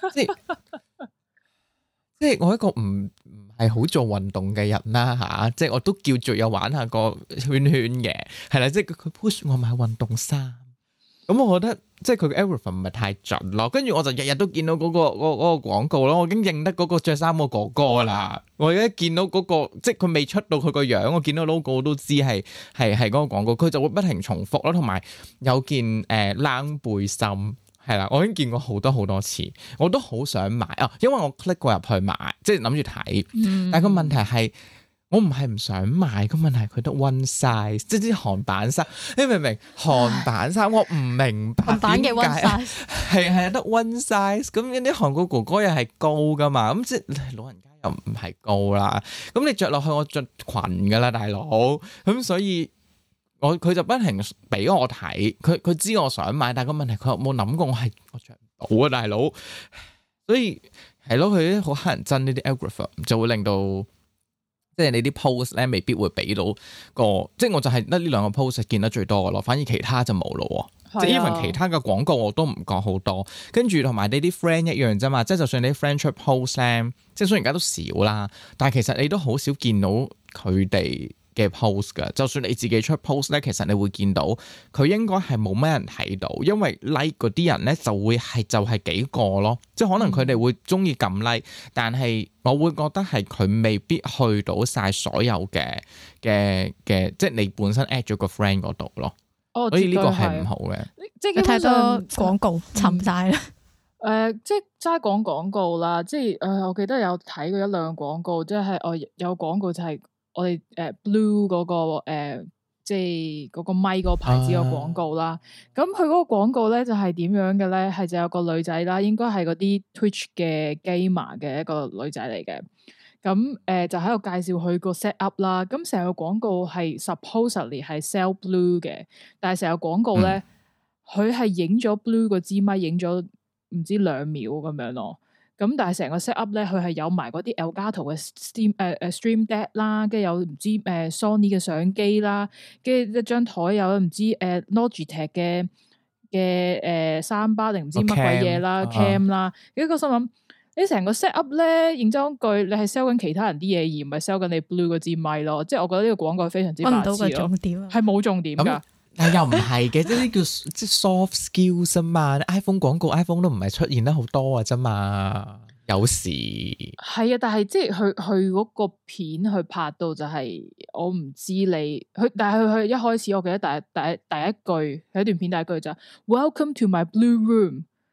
即係我一個唔係好做運動嘅人啦吓，即係我都叫做有玩下個圈嘅，係啦，即係佢 push 我買運動衫，咁我覺得即係佢嘅 algorithm 唔係太準咯，跟住我就日日都見到嗰個廣告咯，我已經認得嗰個着衫個哥哥啦，我而家見到嗰個即係佢未出到佢個樣，我見到 logo 我都知係嗰個廣告，佢就會不停重複咯，同埋有件冷背心。係啦，我已經見過好多次，我都好想買啊！因為我 click 過入去買，即係諗住睇。但係個問題係，我唔係唔想買，個問題佢得 one size，即係啲韓版衫。你明唔明？韓版衫我唔明白韓版嘅 one size 係得 one size。咁啲韓國哥哥又係高噶嘛？咁即係老人家又唔係高啦。咁你着落去我着裙噶啦，大佬。咁所以。佢就不停俾我睇，佢知我想買，但係個問題佢有冇諗過我着唔到啊，大佬。所以係咯，佢啲好乞人憎呢啲 algorithm 就會令到即係你啲 post 咧未必會俾到個，即係我就係得呢兩個 post 見得最多嘅咯，反而其他就冇咯。即係 even 其他嘅廣告我都唔覺好多，跟住同埋你啲 friend 一樣啫嘛，即係就算你啲 friend 出 post 咧，即係雖然而家都少啦，但係其實你都好少見到佢哋嘅 post 噶，就算你自己出 post 咧，其實你會見到佢應該係冇咩人睇到，因為 like 嗰啲人咧就係幾個咯，即係可能佢哋會中意撳 like，但係我會覺得係佢未必去到晒所有嘅，即係你本身 add 咗個 friend 嗰度咯。所以呢個係唔好嘅， 即係太多廣告沉晒啦。 即係齋講廣告啦，即係我記得有睇過一兩個廣告，即係我有廣告就係我哋Blue 嗰個即係嗰個咪嗰個牌子個廣告啦。咁佢嗰個廣告咧就係點樣嘅咧？係就有個女仔啦，應該係嗰啲 Twitch 嘅 gamer 嘅一個女仔嚟嘅。咁就喺度介紹佢個 set up 啦。咁成個廣告係 supposedly 係 sell Blue 嘅，但係成個廣告咧，佢係影咗 Blue 個支咪，影咗唔知2秒咁樣咯。咁但係成個 set up 咧，佢係有埋嗰啲 Elgato 嘅Stream Deck 啦，跟住有唔知Sony 嘅相機啦，跟住一張台有唔知Logitech 嘅3bar定唔知乜鬼嘢啦 cam 啦，跟住個心諗。你成個 set up 咧，認真句，你係 sell 緊其他人啲嘢，而唔係 sell 緊你 Blue 嗰支咪咯。即係我覺得呢個廣告係非常之白痴咯。搵唔到個重點啊，係冇重點噶。 但又唔係嘅，即係呢叫即係 soft skills 啊嘛。iPhone 廣告 iPhone 都唔係出現得好多啊啫嘛。有時係啊，但係即係佢嗰個片去拍到就係、是、我唔知你佢，但係佢一開始我記得第一句有一段片第一句就 Welcome to my blue room。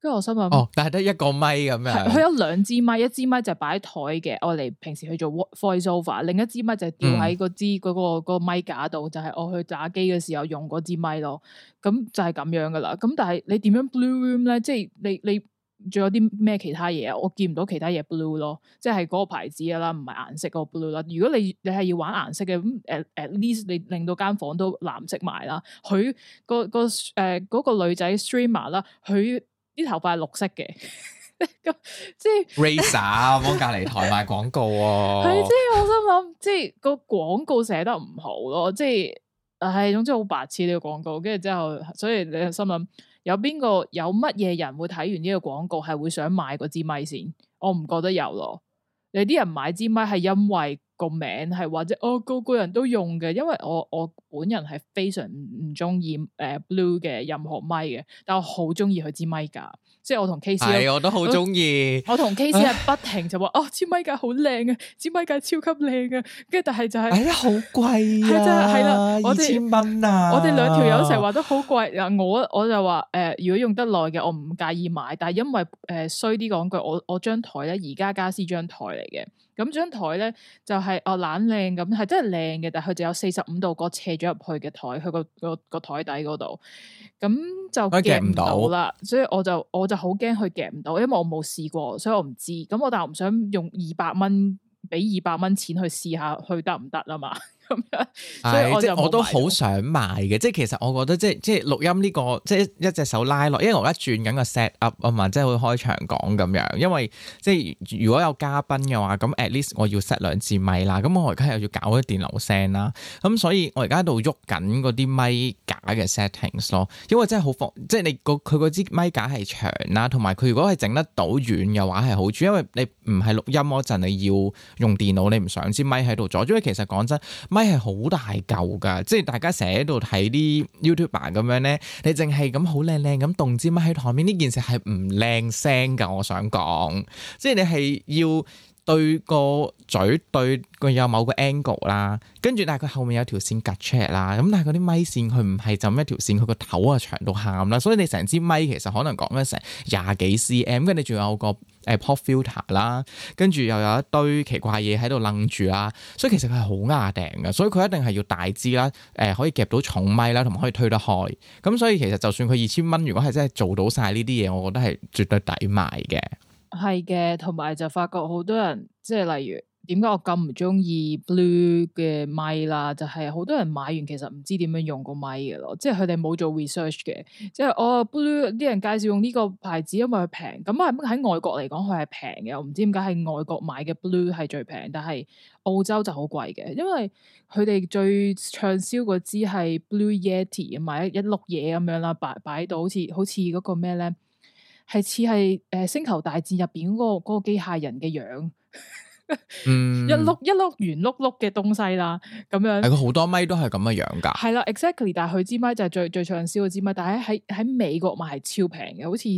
跟住我心諗， 但係得一個咪咁樣。 佢有兩支咪，一支咪就擺喺台嘅，我哋平時去做 voice over，另一支咪就吊喺嗰個咪架度，就係我去打機嘅時候用嗰支咪咯。咁就係咁樣噶啦。咁但係你點樣 blue room 咧？即係你仲有啲咩其他嘢啊？我見唔到其他嘢 blue 咯，即係嗰個牌子啦，唔係顏色嗰個 blue 啦。如果你係要玩顏色嘅，咁at least 你令到間房都藍色埋啦。佢嗰個女仔 streamer 啦，佢啲頭髮係綠色嘅，即係 Razer 幫隔離台賣廣告喎。 係即係我心諗，即係個廣告寫得唔好咯，即係總之好白痴呢個廣告。跟住之後，所以你心諗有乜嘢人會睇完呢個廣告係會想買嗰支咪先？我唔覺得有咯。你啲人買支咪係因為個名係或者個個人都用嘅，因為我本人係非常唔中意Blue 嘅任何咪嘅，但我好中意佢支咪架，即係我同 KC 我都好中意。 我同 KC 係不停就話支咪架好靚啊，支咪架超級靚啊，跟住但係就係好貴啊， 係啦 2000蚊啊， 我哋兩條友成日話都好貴啊，我就話如果用得耐嘅我唔介意買，但係因為衰啲講句，我張台咧宜家家私張台嚟嘅。咁張台咧就係懶靚咁，係真係靚嘅，但係佢就有45度角斜咗入去嘅台，佢個台底嗰度，咁就夾唔到啦。所以我就好驚佢夾唔到，因為我冇試過，所以我唔知。咁但係我唔想用200蚊俾200蚊錢去試下，去得唔得啊嘛？咁樣，所以我都好想買嘅，即係其實我覺得即係錄音呢個即係一隻手拉落，因為我而家轉緊個 set up 啊嘛，即係會開場講咁樣。因為即係如果有嘉賓嘅話，咁 at least 我要 set 2支咪啦，咁我而家又要搞啲電流聲啦，咁所以我而家喺度喐緊嗰啲咪架嘅 settings 咯。因為真係好即係你佢嗰支咪架係長啦，同埋佢如果係整得到遠嘅話係好處，因為你唔係錄音嗰陣你要用電腦，你唔想支咪喺度阻，因為其實講真。咪係好大嚿噶，即係大家成日喺度睇啲 YouTuber 咁樣咧，你淨係咁好靚靚咁動支咪喺台面，呢件事係唔靚聲噶。我想講，即係你係要對個嘴對佢有某個 angle 啦，跟住但係佢後面有條線夾出嚟啦，咁但係嗰啲咪線佢唔係就咁一條線，佢個頭啊長到喊啦，所以你成支咪其實可能講緊成20幾 cm， 跟住你仲有個pop filter 啦，跟住又有一堆奇怪嘢喺度楞住啦，所以其實佢係好壓頂嘅，所以佢一定係要大支啦，可以夾到重咪啦，同埋可以推得開，咁所以其實就算佢2000蚊，如果係真係做到晒呢啲嘢，我覺得係絕對抵買嘅。 係嘅，同埋就發覺好多人即係例如點解我咁唔中意 Blue 嘅咪啦，就係好多人買完其實唔知點樣用個咪嘅咯，即係佢哋冇做 research 嘅，即係Blue 啲人介紹用呢個牌子，因為佢平，咁喺外國嚟講佢係平嘅，我唔知點解喺外國買嘅 Blue 係最平，但係澳洲就好貴嘅，因為佢哋最暢銷嗰支係 Blue Yeti， 買一碌嘢咁樣啦，擺到好似嗰個咩咧？係似係星球大戰入邊嗰個機械人嘅樣，一碌圓碌碌嘅東西啦，咁樣。係佢好多咪都係咁嘅樣噶。 係啦 ，exactly。但係佢支咪就係最暢銷嘅支咪，但係喺美國買係超平嘅，好似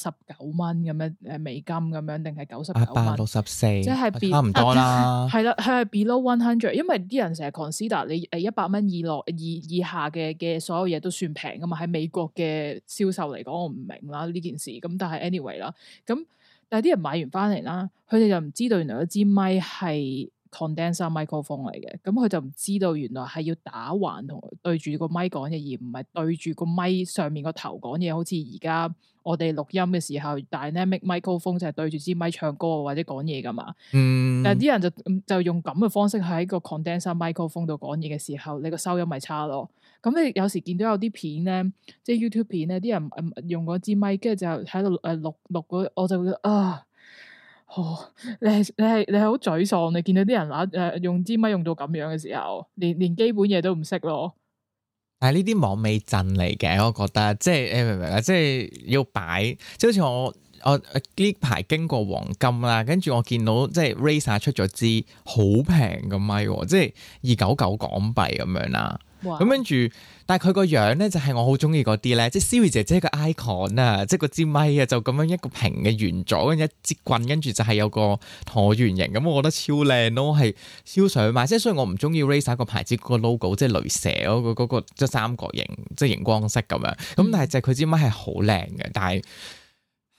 79蚊咁樣美金咁樣，定係99蚊 164， 即係差唔多啦。 係啦，佢係 below 100，因為啲人成日 consider 你100蚊以下嘅所有嘢都算平噶嘛。喺美國嘅銷售嚟講，我唔明啦呢件事。咁但係 anyway 啦，咁。但係啲人買完翻嚟啦，佢哋就唔知道原來嗰支咪係 condenser microphone 嚟嘅，咁佢就唔知道原來係要打橫同對住個咪講嘢，而唔係對住個咪上面個頭講嘢，好似而家我哋錄音嘅時候 dynamic microphone 就係對住支咪唱歌或者講嘢噶嘛。但係啲人就用咁嘅方式喺個 condenser microphone 度講嘢嘅時候，你個收音咪差咯。咁你有時見到有啲片咧，即係 YouTube 片咧，啲人用嗰支咪，跟住就喺度錄嗰，我就會覺得你係好沮喪。你見到啲人用支咪用到咁樣嘅時候，連基本嘢都唔識咯。 但係呢啲網美陣嚟嘅，我覺得即係你明唔明啊？即係要擺，即係好似我呢排經過黃金啦，跟住我見到即係 Razer 出咗支好平嘅咪，即係299港幣咁樣啦。咁跟住，但係佢個樣咧就係我好中意嗰啲咧，即係 Siri 姐姐個 icon 啊，即係個支咪啊，就咁樣一個平嘅圓座，跟住一支棍，跟住就係有個橢圓形，咁我覺得超靚咯，係超想買。即係雖然我唔中意 Razer 個牌子個 logo，即係雷蛇嗰個即係三角形，即係熒光色咁樣。咁但係就佢支咪係好靚嘅，但係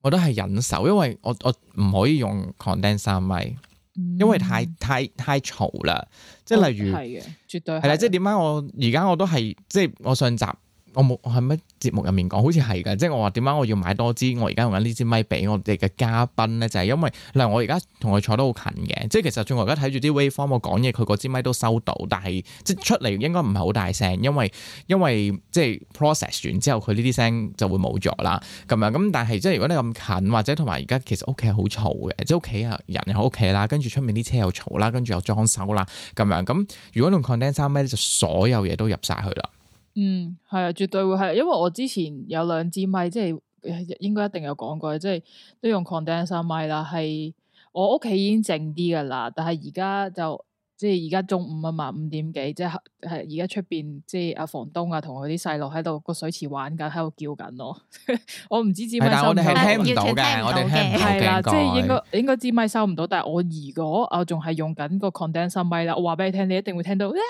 我都係忍手，因為我唔可以用 condenser 咪，因為太嘈啦。即係例如係嘅， 絕對係啦。即係點解我而家我都係即係我上集。我喺乜節目入面講，好似係㗎，即係我話點解我要買多支？我而家用緊呢支咪俾我哋嘅嘉賓咧，就係因為嗱，我而家同佢坐得好近嘅，即係其實我而家睇住啲 waveform，我講嘢佢嗰支咪都收到，但係即係出嚟應該唔係好大聲，因為即係 process 完之後佢呢啲聲就會冇咗啦，咁樣咁。但係即係如果你咁近，或者同埋而家其實屋企係好嘈嘅，即係屋企啊人又喺屋企啦，跟住出面啲車又嘈啦，跟住又裝修啦，咁樣咁。如果用 condenser 咪就所有嘢都入晒去啦。 係啊，絕對會係，因為我之前有2支咪，即係應該一定有講過，即係都用 condenser 咪啦。係我屋企已經靜啲噶啦，但係而家就即係而家中午啊嘛，5點幾，即係而家出邊即係阿房東啊，同佢啲細路喺度個水池玩緊，喺度叫緊咯。我唔知支咪收唔到， 但我哋係聽唔到嘅，我哋聽唔到嘅。 係啦，即係應該支咪收唔到，但係我如果我仲係用緊個 condenser 咪啦，我話俾你聽，你一定會聽到。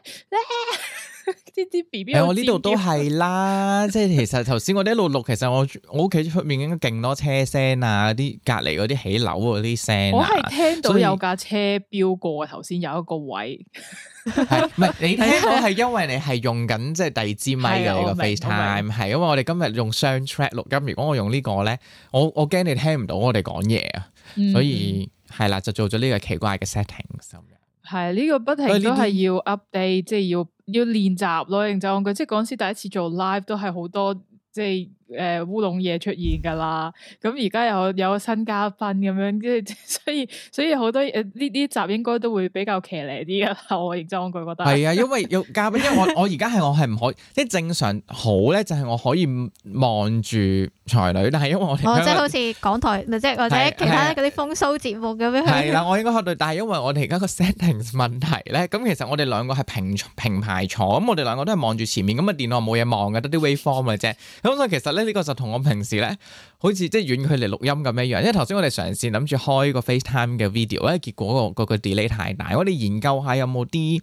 啲 B B， 我呢度都係啦，即係其實頭先我哋一路錄，其實我屋企出面應該勁多車聲啊，啲隔籬嗰啲起樓嗰啲聲， 我係聽到有架車飆過，頭先有一個位， 係唔係你聽到係因為你係用緊即係第二支咪嘅你個 FaceTime，係因為我哋今日用雙 track 錄音，如果我用呢個咧，我驚你聽唔到我哋講嘢啊，所以係啦，就做咗呢個奇怪嘅 settings。 係呢個不停都係要 update，即係要練習咯。認真講句，即係嗰陣時第一次做 live 都係好多即係烏龍嘢出現噶啦。咁而家有新嘉賓咁樣，跟住所以好多呢集應該都會比較騎呢啲噶啦。我認真講句覺得係啊，因為有嘉賓，因為我而家係我係唔可以，即係正常好咧，就係我可以望住才女，但係因為我哋即係好似港台，即係或者其他嗰啲風騷節目咁樣。 係啦，我應該學到，但係因為我哋而家個 settings 問題咧，咁其實我哋兩個係平排坐，咁我哋兩個都係望住前面，咁啊電腦冇嘢望嘅，得啲 waveform 嘅啫。咁所以其實咧呢個就同我平時咧好似即係遠距離錄音咁樣樣，因為頭先我哋嘗試諗住開個 FaceTime 嘅 video，因為結果個 delay 太大，我哋研究下有冇啲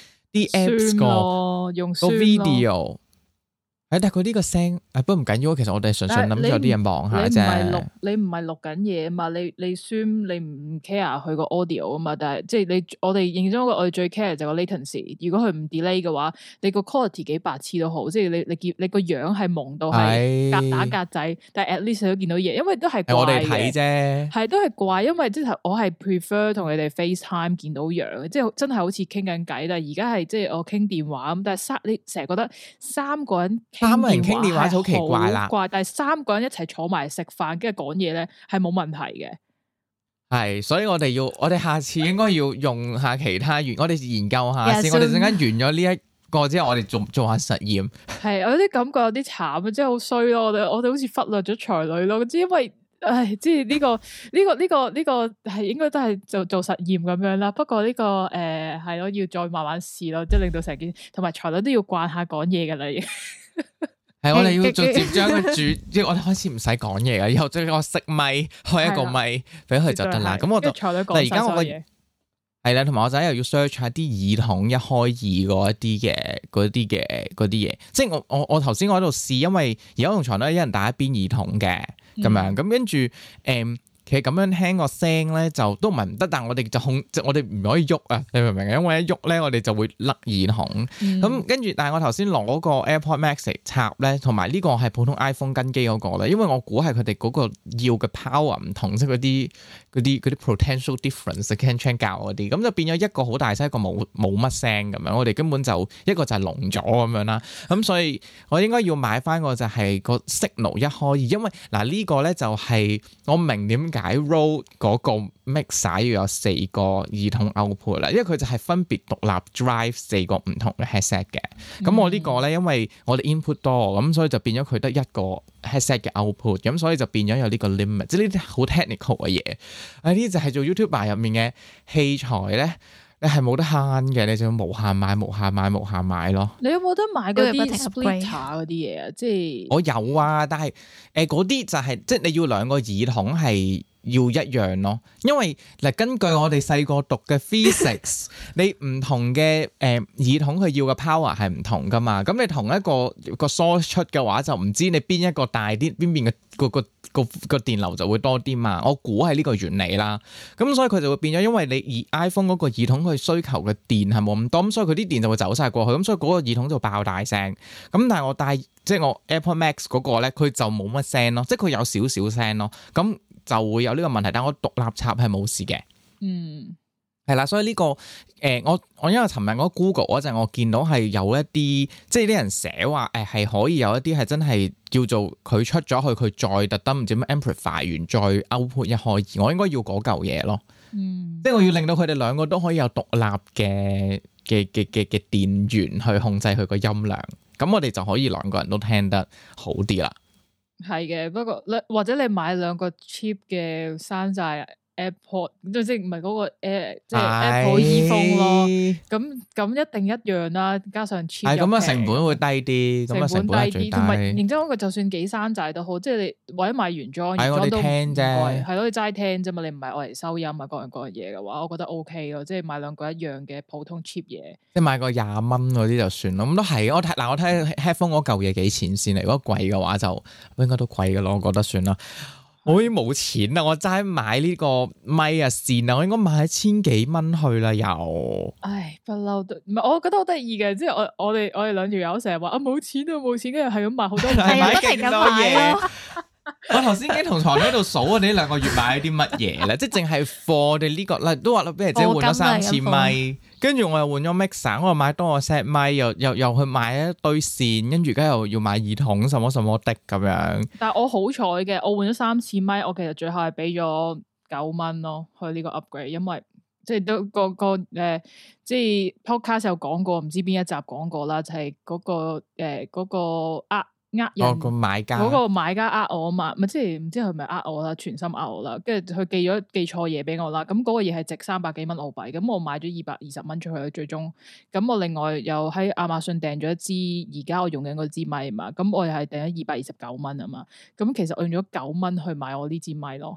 apps 個 video。但係佢呢個聲，不過唔緊要，其實我哋純粹諗住有啲人望下啫。 你唔係錄緊嘢啊嘛？你 Zoom 你唔 care 佢個 audio 啊嘛？但係即係我哋認真我哋最 care 就個 latency。如果佢唔 delay 嘅話，你個 quality 幾白痴都好，即係你個樣係蒙到係格打格仔，但係 at least 都見到嘢，因為都係怪嘅。 我哋睇啫， 係都係怪，因為即係我係 prefer 同你哋 FaceTime 見到樣，即係真係好似傾緊偈。但係而家係即係我傾電話咁，但係你成日覺得3個人。 3個人傾電話就好奇怪啦， 但係3個人一齊坐埋食飯，跟住講嘢咧係冇問題嘅。 係，所以我哋下次應該要用下其他我哋研究下先。我哋陣間完咗呢一個之後，我哋做下實驗。係， 我有啲感覺有啲慘啊，真係好衰咯。我哋好似忽略咗才女咯，因為即係呢個係應該都係做實驗咁樣啦。不過呢個係咯，要再慢慢試咯，即係令到成件同埋才女都要慣下講嘢噶啦。 係，我哋要直接將佢即係我哋開始唔使講嘢噶，以後將個熄咪開一個咪俾佢就得啦。咁我就但係而家我係啦，同埋我仔又要 search 下啲耳筒一開二嗰啲嘢。即係我頭先我喺度試，因為而家同床都一人戴一邊耳筒嘅咁樣，咁跟住其實咁樣聽個聲咧就都唔係唔得，但係我哋即我哋唔可以喐啊！你明唔明啊？因為一喐咧，我哋就會甩耳筒。咁跟住，但係我頭先攞個 AirPod Max 嚟插咧，同埋呢個係普通 iPhone 跟機嗰個咧，因為我估係佢哋嗰個要嘅 power 唔同，即係嗰啲 potential difference Ken Chan 教嗰啲，咁就變咗一個好大聲，一個冇乜聲咁樣。我哋根本就一個就係聾咗咁樣啦。咁所以我應該要買翻個就係個 signal 一開二，因為嗱呢個咧就係我明點解 Rode 嗰個 mixer 要有4個耳筒 output 啦，因為佢就係分別獨立 drive 4個唔同嘅 headset 嘅。咁我呢個咧，因為我哋 input 多，咁所以就變咗佢得一個 headset 嘅 output，咁所以就變咗有呢個 limit，即係呢啲好 technical 嘅嘢。呢啲就係做 YouTuber 入面嘅器材咧，你係冇得慳嘅，你就要無限買咯。 你有冇得買嗰啲 splitter 嗰啲嘢啊？即係我有啊，但係嗰啲就係即係你要兩個耳筒係要一樣咯，因為嗱根據我哋細個讀嘅 physics， 你唔同嘅耳筒佢要嘅 power 係唔同噶嘛，咁你同一個 source 出嘅話就唔知你邊一個大啲，邊邊嘅個個電流就會多啲嘛。我估係呢個原理啦。咁所以佢就會變咗，因為你iPhone 嗰個耳筒佢需求嘅電係冇咁多，咁所以佢啲電就會走晒過去，咁所以嗰個耳筒就爆大聲。咁但係我戴即係我 AirPods Max 嗰個咧，佢就冇乜聲咯，即係佢有少少聲咯。咁就會有呢個問題，但係我獨立插係冇事嘅。係啦，所以呢個我因為尋日我 Google 嗰陣，我見到係有一啲即係啲人寫話係可以有一啲係真係叫做佢出咗去，佢再特登唔知咩 amplify 完再 output 一開二，我應該要嗰嚿嘢咯。即係我要令到佢哋兩個都可以有獨立嘅電源去控制佢個音量，咁我哋就可以兩個人都聽得好啲啦。係嘅， 不過或者你買兩個 cheap 嘅山寨AirPod 即係唔係嗰個即係 Apple earphone 咯，咁一定一樣啦，加上 cheap 係咁啊，成本會低啲，咁啊成本低啲，同埋認真講句，就算幾山寨都好，即係你或者買原裝，原裝都聽啫，係咯，你齋聽啫嘛，你唔係愛嚟收音啊，各樣嘢嘅話，我覺得 OK 咯，即係買兩個一樣嘅普通 cheap 嘢，即係買個20蚊嗰啲就算咯，咁都係我睇 headphone 嗰嚿嘢幾錢先嚟，如果貴嘅話就應該都貴嘅咯，我覺得算啦。我已經冇錢啦，我齋買呢個咪啊線啊，我應該買1000幾蚊去啦又。 唉，不嬲都唔係，我覺得好得意嘅，即係我哋兩條友成日話啊冇錢啊冇錢，跟住係咁買好多， 係買勁多嘢。我頭先已經同床喺度數我哋呢兩個月買咗啲乜嘢咧，即係淨係貨我哋呢個啦，都話啦，俾人姐換咗3次咪，跟住我又換咗 mixer，我又買多個 set 咪，又去買一堆線，跟住而家又要買耳筒，什麼什麼的咁樣。 但係我好彩嘅，我換咗3次咪，我其實最後係俾咗9蚊咯，去呢個 upgrade，因為即係都個即係 podcast 有講過，唔知邊一集講過啦，就係嗰個人個買家嗰個買家我嘛，咪即係唔知佢係咪我啦，全心我啦，跟住佢寄錯嘢俾我啦，咁嗰個嘢係值300幾蚊澳幣，咁我買咗220蚊出去，最終咁我另外又喺亞馬遜訂咗一支而家我用緊嗰支咪嘛，咁我又係訂咗229蚊啊嘛，咁其實我用咗9蚊去買我呢支咪咯。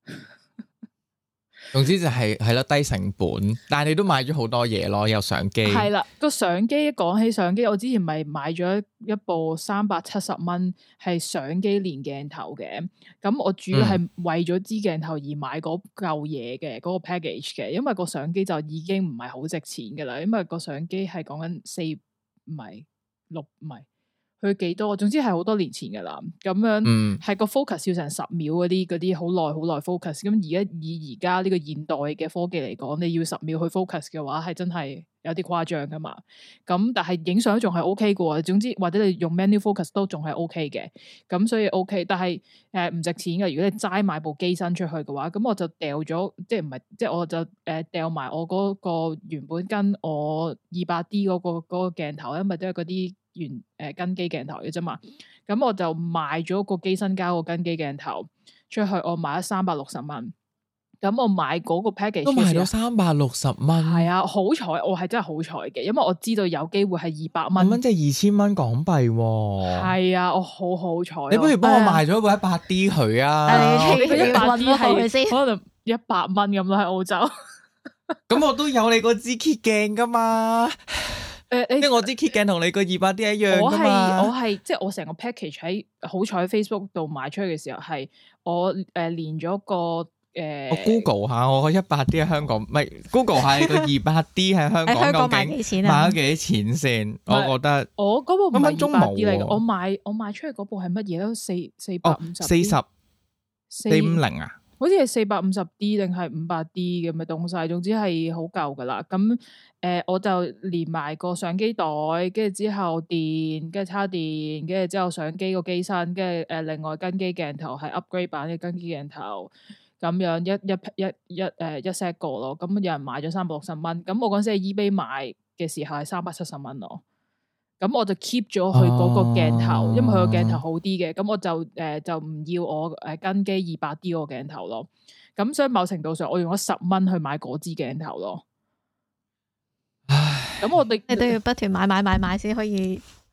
總之就係咯，低成本，但係你都買咗好多嘢咯，有相機。 係啦，個相機講起相機，我之前咪買咗一部370蚊係相機連鏡頭嘅，咁我主要係為咗支鏡頭而買嗰嚿嘢嘅嗰個 package 嘅，因為個相機就已經唔係好值錢噶啦，因為個相機係講緊4唔係6唔係。佢幾多？總之係好多年前噶啦，咁樣係個 focus 要成10秒嗰啲好耐 focus。咁以而家呢個現代嘅科技嚟講，你要10秒去 focus 嘅話，係真係有啲誇張噶嘛。咁但係影相仲係 OK 嘅喎。總之或者你用 manual focus 都仲係 OK 嘅。咁所以 OK，但係唔值錢嘅。如果你齋買部機身出去嘅話，咁我就掉咗，即係唔係即係我就掉埋我嗰個原本跟我200D 嗰個鏡頭，因為都係嗰啲跟機鏡頭嘅啫嘛，咁我就賣咗個機身加個跟機鏡頭出去，我買咗360蚊。咁我買嗰個 package 都賣咗360蚊。 係啊，好彩，我係真係好彩嘅，因為我知道有機會係200蚊。 即係2000蚊港幣喎。係啊，我好彩。 你不如幫我賣咗部 100D 佢啊？ 你佢100D 係可能100蚊咁咯，喺澳洲。 咁我都有你個支 kit 鏡噶嘛。即係我支 kit 鏡同你個200D 一樣噶嘛。 我係即係我成個 package 喺好彩 Facebook 度賣出去嘅時候，係我連咗個我 Google 下我個100D 喺香港，唔係 Google 下你個200D 喺香港究竟賣咗幾錢先？我覺得我嗰部唔係200D嚟嘅，我賣出去嗰部係乜嘢都450 450啊。 好似係450D 定係500D 咁嘅東西，總之係好舊噶啦。咁我就連埋個相機袋，跟住之後電，跟住叉電，跟住之後相機個機身，跟住另外跟機鏡頭係 upgrade 版嘅跟機鏡頭，咁樣一 set 個咯。咁有人買咗360蚊，咁我嗰陣時喺 eBay 買嘅時候係370蚊咯。咁我就 keep 咗佢嗰個鏡頭，因為佢個鏡頭好啲嘅，咁我就唔要我跟機200D 個鏡頭咯。咁所以某程度上，我用咗10蚊去買嗰支鏡頭咯。咁我哋你都要不斷買先可以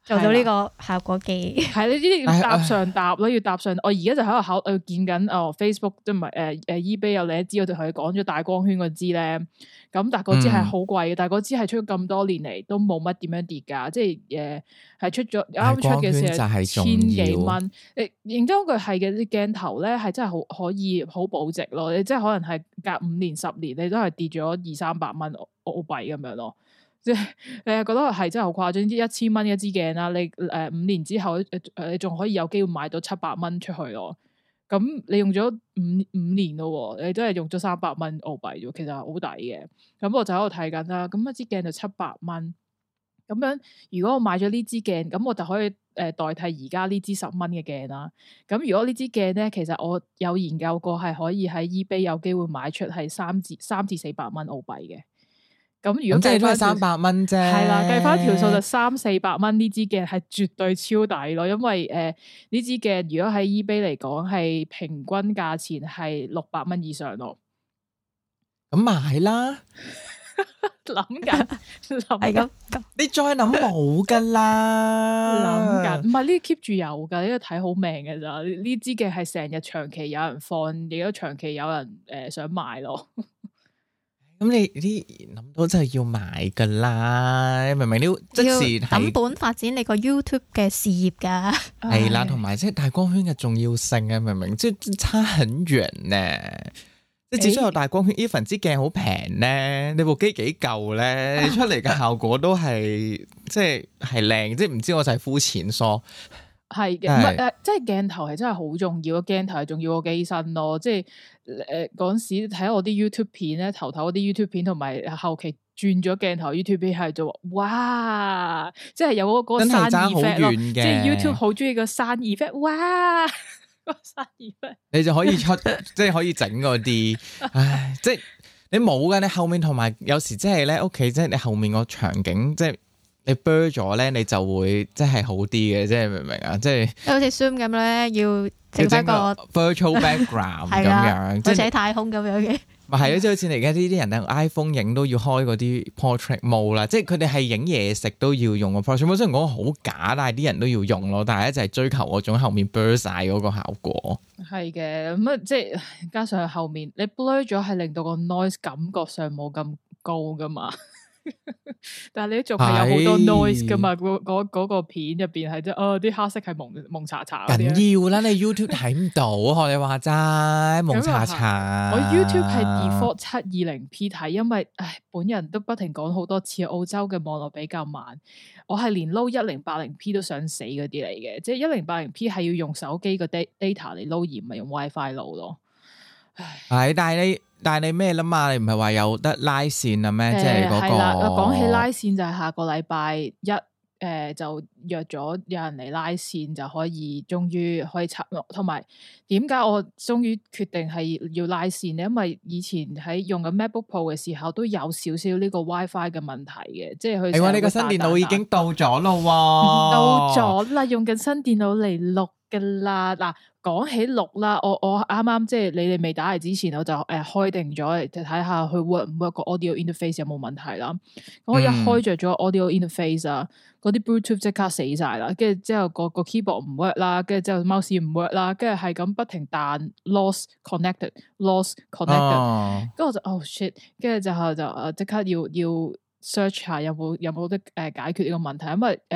做到呢個效果機。 係呢啲要搭上搭咯，要搭上。我而家就喺度考見緊Facebook 即唔係eBay 有另一支，我就同佢講咗大光圈嗰支咧。咁但係嗰支係好貴嘅，但係嗰支係出咗咁多年嚟都冇乜點樣跌㗎，即係係出咗啱出嘅時候千幾蚊。認真句係嘅，啲鏡頭咧係真係好可以好保值咯。你即係可能係隔5年10年，你都係跌咗200-300蚊澳幣咁樣咯。即係你係覺得係真係好誇張，啲1000蚊一支鏡啦，你5年之後你仲可以有機會買到700蚊出去咯。咁你用咗五年咯，你都係用咗300蚊澳幣啫，其實係好抵嘅。咁我就喺度睇緊啦，咁一支鏡就700蚊。咁樣如果我買咗呢支鏡，咁我就可以代替而家呢支10蚊嘅鏡啦。咁如果呢支鏡咧，其實我有研究過係可以喺 eBay 有機會買出係3至400蚊澳幣嘅。咁如果計翻 300蚊啫，係啦，計翻條數就300-400蚊呢支鏡係絕對超抵咯，因為呢支鏡如果喺 eBay 嚟講係平均價錢係600蚊以上咯。 咁買啦， 諗緊係咁， 你再諗冇噶啦， 諗緊唔係呢 keep 住有噶，呢個睇好命嘅咋，呢支鏡係成日長期有人放，亦都長期有人想買咯。 咁你啲諗到真係要買噶啦，你明唔明？呢即時等本發展你個 YouTube 嘅事業噶， 係啦，同埋即係大光圈嘅重要性啊，明唔明？即係差很遠咧，即係只需要大光圈，even 支鏡好平咧，你部機幾舊咧，你出嚟嘅效果都係即係靚，即係唔知我就係膚淺疏。 係嘅，唔係即係鏡頭係真係好重要，鏡頭係重要過機身咯。即係嗰陣時睇我啲 YouTube 片咧，頭嗰啲 YouTube 片同埋後期轉咗鏡頭 YouTube 片係做哇，即係有嗰個山 effect 咯。即係 YouTube 好中意個山 effect，哇，個山 effect， 你就可以出，即係可以整嗰啲，唉，即係你冇嘅，你後面同埋有時即係咧屋企，即係你後面個場景即係。你 blur 咗咧，你就會即係好啲嘅，即係明唔明啊？即係好似 Zoom 咁咧，要整翻個 virtual background 咁樣， 即係喺太空咁樣嘅。 咪係咯，即係好似你而家呢啲人咧 ，iPhone 影都要開嗰啲 portrait mode 啦，即係佢哋係影嘢食都要用個 portrait mode。雖然講好假，但係啲人都要用咯。但係咧就係追求嗰種後面 blur 晒嗰個效果。 係嘅，咁啊即係加上後面你 blur 咗，係令到個 noise 感覺上冇咁高噶嘛。但係你仲係有好多 noise 噶嘛？嗰個片入邊係即係啲黑色係蒙查查緊要啦！你 YouTube 睇唔到，學你話齋蒙查查。 我 YouTube 係 default 720p 睇，因為本人都不停講好多次，澳洲嘅網絡比較慢。我係連撈 1080p 都想死嗰啲嚟嘅，即係 1080p 係要用手機個 data 嚟撈，而唔係用 WiFi 撈咯。 係，但係你咩啦嘛？你唔係話有得拉線啊咩？即係嗰個。係啦， 講起拉線就係下個禮拜一，就約咗有人嚟拉線，就可以終於可以插。同埋點解我終於決定係要拉線咧？因為以前喺用緊 MacBook Pro 嘅時候都有少少呢個 WiFi 嘅問題嘅，即係佢。係喎， 你個新電腦已經到咗咯喎。 到咗啦，用緊新電腦嚟錄㗎啦。嗱，講起錄啦，我啱啱即係你哋未打嚟之前，我就開定咗嚟睇下佢 work 唔 work 個 audio interface 有冇問題啦。咁我一開着咗 audio interface 啊，嗰啲 Bluetooth 即刻死晒啦，跟住之後個 keyboard 唔 work 啦，跟住之後 mouse 唔 work 啦，跟住係咁不停彈 lost connected，跟住我就oh shit，跟住就即刻要 search 下有冇得解決呢個問題，因為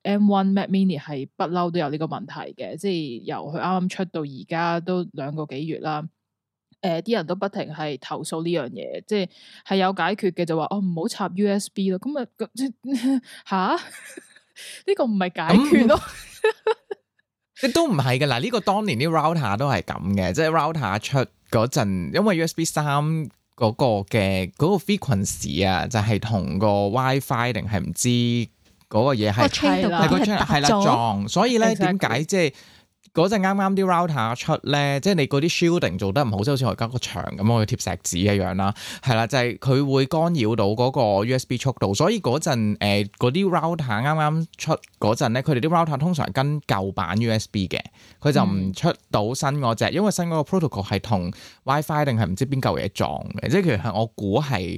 M1 Mac Mini 係不嬲都有呢個問題嘅，即係由佢啱啱出到而家都2個幾月啦。啲人都不停係投訴呢樣嘢，即係有解決嘅就話唔好插 USB 咯。咁吓呢個唔係解決咯， 即都唔係嘅嗱。呢個當年啲 router 都係咁嘅，即係 router 出嗰陣，因為 USB 3嗰個嘅嗰個 frequency 啊，就係同個 WiFi 定係唔知嗰個嘢係啦撞，所以咧點解即係？嗰陣啱啱啲 router 出咧，即係你嗰啲 shielding 做得唔好，即係好似我而家個牆咁，我要貼石紙一樣啦，係啦，就係佢會干擾到嗰個 USB 速度，所以嗰陣嗰啲 router 啱啱出嗰陣咧，佢哋啲 router 通常跟舊版 USB 嘅，佢就唔出到新嗰隻，因為新嗰個 protocol 係同 WiFi 定係唔知邊嚿嘢撞嘅，即係其實我估係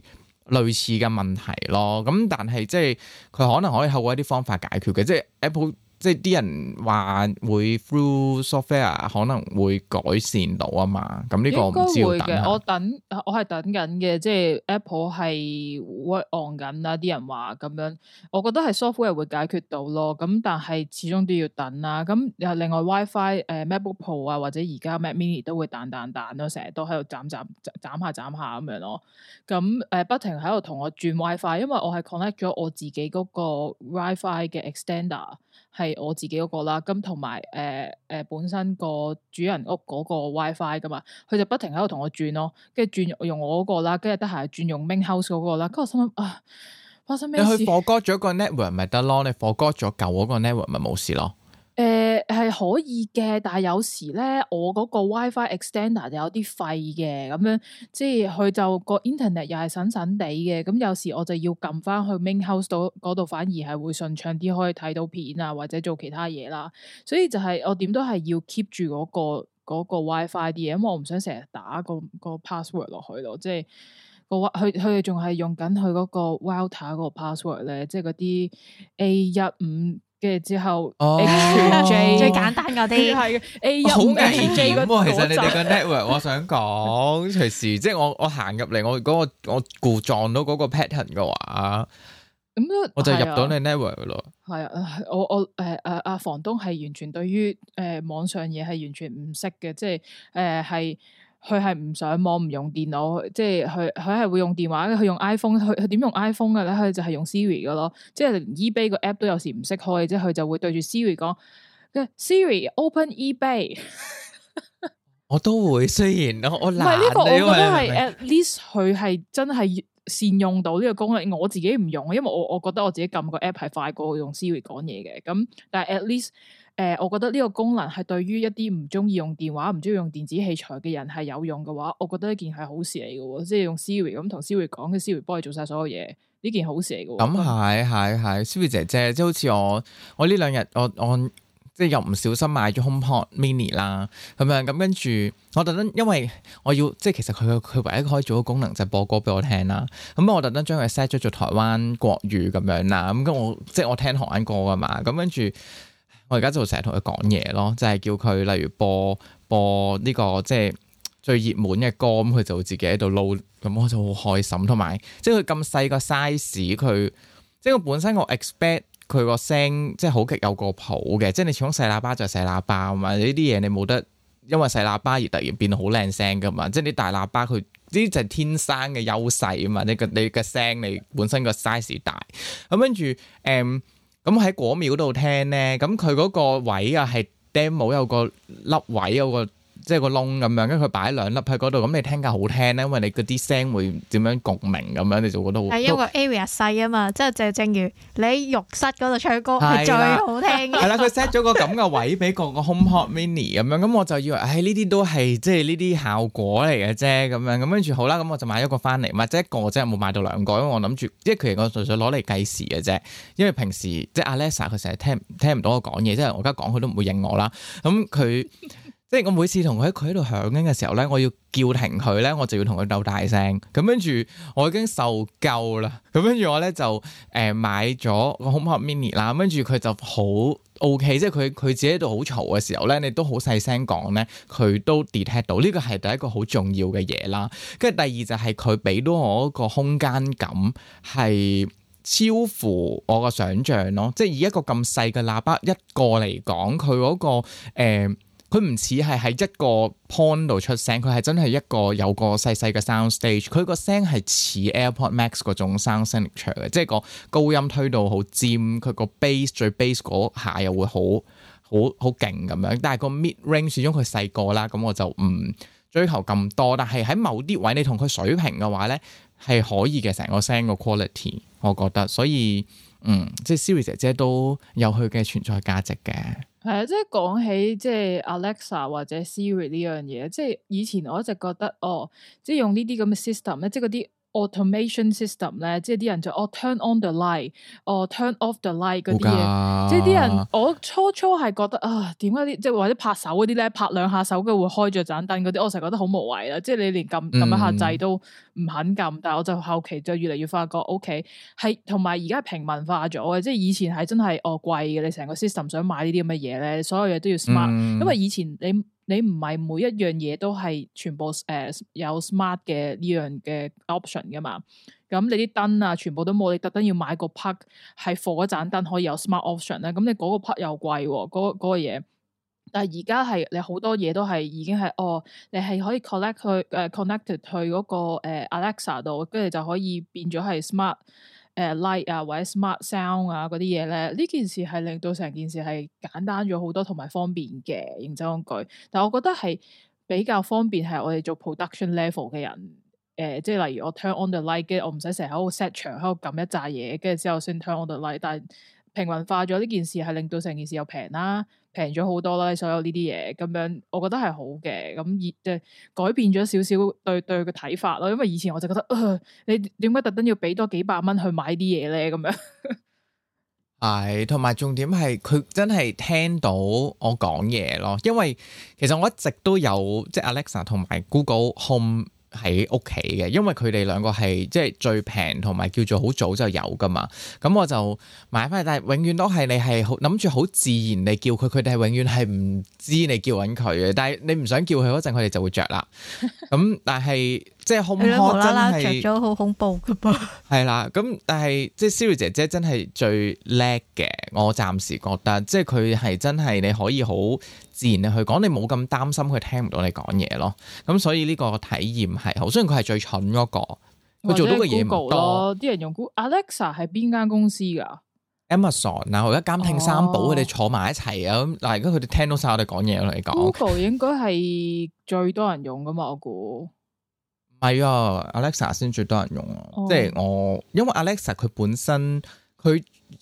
類似嘅問題咯。咁但係即係佢可能可以透過一啲方法解決嘅，即係 Apple。即係啲人話會 through software 可能會改善到啊嘛，咁呢個我唔知要等下。 我係等緊嘅，即係 Apple 係 work on 緊啦。啲人話咁樣，我覺得係 software 會解決到咯。咁但係始終都要等啦。咁又另外 WiFi MacBook Pro 啊，或者而家 Mac Mini 都會彈咯，成日都喺度斬下咁樣咯。咁不停喺度同我轉 WiFi，因為我係 connect 咗我自己嗰個 WiFi 嘅 extender。係我自己嗰個啦，咁同埋本身個主人屋嗰個 WiFi 噶嘛，佢就不停喺度同我轉咯，跟住轉用我嗰個啦，跟住得閒轉用 main house 嗰個啦，跟住我心諗啊，發生咩事？ 你去 forgot 咗個 network 咪得咯，你 forgot 咗舊嗰個 network 咪冇事咯。 係可以嘅，但係有時咧，我嗰個 WiFi extender 就有啲廢嘅，咁樣即係佢就個 internet 又係神神地嘅，咁有時我就要撳翻去 main house 嗰度，反而係會順暢啲，可以睇到片啊，或者做其他嘢啦。所以就係我點都係要 keep 住嗰個 WiFi 啲嘢，因為我唔想成日打個 password 落去咯，即係佢哋仲係用緊佢嗰個 router 嗰個 password 咧，即係嗰啲 A15。跟住之後 ，H J 最簡單嗰啲係 A15 好危險喎！其實你哋個 network， network， 我想講隨時，即係我行入嚟，我故撞到嗰個 pattern 嘅話，咁我就入到你 network 咯。 係啊，我阿房東係完全對於網上嘢係完全唔識嘅，即係係。佢係唔上網唔用電腦，即係佢係會用電話嘅。佢用 iPhone，佢點用 iPhone 嘅咧？佢就係用 Siri 嘅咯。即係連 eBay 個 app 都有時唔識開，即係佢就會對住 Siri 講：Siri open eBay。 我都會，雖然我懶。唔係呢個，我覺得係 at least 佢係真係善用到呢個功能。我自己唔用，因為我覺得我自己撳個 app 係快過用 Siri 講嘢嘅。咁但係 at least。我覺得呢個功能係對於一啲唔中意用電話、唔中意用電子器材嘅人係有用嘅話，我覺得呢件係好事嚟嘅，即係用 Siri 咁同 Siri 講，嘅 Siri 幫你做晒所有嘢，呢件好事嚟嘅。 咁係 Siri 姐姐，即係好似我呢兩日我即係又唔小心買咗 HomePod Mini 啦，咁樣咁跟住我特登，因為我要即係其實佢唯一可以做嘅功能就係播歌俾我聽啦。咁我特登將佢 set 咗做台灣國語咁樣啦。咁我即係我聽台灣歌噶嘛，咁跟住。我而家就成日同佢講嘢咯，就係叫佢例如播呢個即係最熱門嘅歌，咁佢就會自己喺度撈，咁我就好開心。同埋即係佢咁細個 size，佢即係我本身我 expect 佢個聲即係好極有個譜嘅，即係你始終細喇叭就係細喇叭啊嘛，呢啲嘢你冇得因為細喇叭而突然變到好靚聲噶嘛，即係你大喇叭佢呢啲就係天生嘅優勢啊嘛，你嘅聲你本身個 size 大，咁跟住咁喺果廟度聽咧，咁佢嗰個位啊係 demo 有個粒位有個即係個窿咁樣，跟住佢擺兩粒喺嗰度，咁你聽較好聽咧，因為你嗰啲聲會點樣共鳴咁樣，你就覺得好。係因為 area 細啊嘛，即係就正如你喺浴室嗰度唱歌係最好聽嘅。係啦，佢 set 咗個咁嘅位俾個 HomePod Mini 咁樣，咁我就以為，呢啲都係即係呢啲效果嚟嘅啫，咁樣咁跟住好啦，咁我就買咗個翻嚟，或者一個即係冇買到兩個，因為我諗住，即係佢我純粹攞嚟計時嘅啫，因為平時即係 Alexa 佢成日聽唔到我講嘢，即係我而家講佢都唔會應我啦，咁佢。即係我每次同佢喺度響緊嘅時候咧，我要叫停佢咧，我就要同佢鬥大聲。咁跟住我已經受夠啦。咁跟住我咧就買咗個 HomePod Mini 啦。跟住佢就好 OK，即係佢自己喺度好嘈嘅時候咧，你都好細聲講咧，佢都 detect 到。呢個係第一個好重要嘅嘢啦。跟住第二就係佢俾到我一個空間感係超乎我個想像咯。即係以一個咁細嘅喇叭一個嚟講，佢嗰個佢唔似係喺一個 point 度出聲，佢係真係一個有個細細嘅 sound stage。佢個聲係似 AirPod Max 嗰種 sound signature 嘅，即係個高音推到好尖，佢個 bass 最 bass 嗰下又會好勁咁樣。但係個 mid range 始終佢細個啦，咁我就唔追求咁多。但係喺某啲位你同佢水平嘅話咧，係可以嘅，成個聲個 quality，我覺得。所以即係 Siri 姐姐都有佢嘅存在價值嘅。 係啊，即係講起即係 Alexa 或者 Siri 呢樣嘢，即係以前我一直覺得即係用呢啲咁嘅 system 咧，即係嗰啲 automation system 咧，即係啲人就turn on the light，turn off the light 嗰啲嘢，即係啲人我初係覺得點解啲即係或者拍手嗰啲咧，拍兩下手嘅會開着盞燈嗰啲，我成日覺得好無謂啦，即係你連撳一下掣都唔肯撳，但係我就後期就越嚟越發覺 OK 係，同埋而家係平民化咗嘅，即係以前係真係貴嘅，你成個 system 想買呢啲咁嘅嘢咧，所有嘢都要 smart，因為以前你唔係每一樣嘢都係全部有 smart 嘅呢樣嘅 option 噶嘛，咁你啲燈啊全部都冇，你特登要買個 plug 係 for 嗰盞燈可以有 smart option 咧，咁你嗰個 plug 又貴喎，嗰個嘢。但係而家係你好多嘢都係已經係你係可以 connected 去嗰個Alexa 度，跟住就可以變咗係 smart light 啊或者 smart sound 啊嗰啲嘢咧，呢件事係令到成件事係簡單咗好多同埋方便嘅，認真講句。但係我覺得係比較方便係我哋做 production level 嘅人，即係例如我 turn on the light， 跟住我唔使成日喺度 set 場喺度撳一紮嘢，跟住之後先 turn on the light。但係平民化咗呢件事係令到成件事又平啦。平咗好多啦，所有呢啲嘢咁樣，我覺得係好嘅。咁即係改變咗少少對個睇法咯。因為以前我就覺得，你點解特登要俾多幾百蚊去買啲嘢咧？咁樣係，同埋重點係佢真係聽到我講嘢咯。因為其實我一直都有即係 Alexa 同埋 Google Home 喺屋企嘅，因為佢哋兩個係即係最平同埋叫做好早就有噶嘛，咁我就買翻嚟，但係永遠都係你係諗住好自然地叫佢，佢哋係永遠係唔知你叫緊佢嘅，但係你唔想叫佢嗰陣，佢哋就會着啦。咁但係即係 HomePod 真係着咗好恐怖噶噃。係啦，咁但係即係 Siri 姐姐真係最叻嘅，我暫時覺得即係佢係真係你可以好自然地去講，你冇咁擔心佢聽唔到你講嘢咯。咁所以呢個體驗係好，雖然佢係最蠢嗰個，佢做到嘅嘢唔多。 啲人用 Alexa 係邊間公司㗎？ Amazon 啊，我而家監聽三寶佢哋坐埋一齊啊。咁嗱，而家佢哋聽到晒我哋講嘢嚟講。 Google 應該係最多人用㗎嘛？我估唔係啊，Alexa 先最多人用啊。即係我因為 Alexa 佢本身佢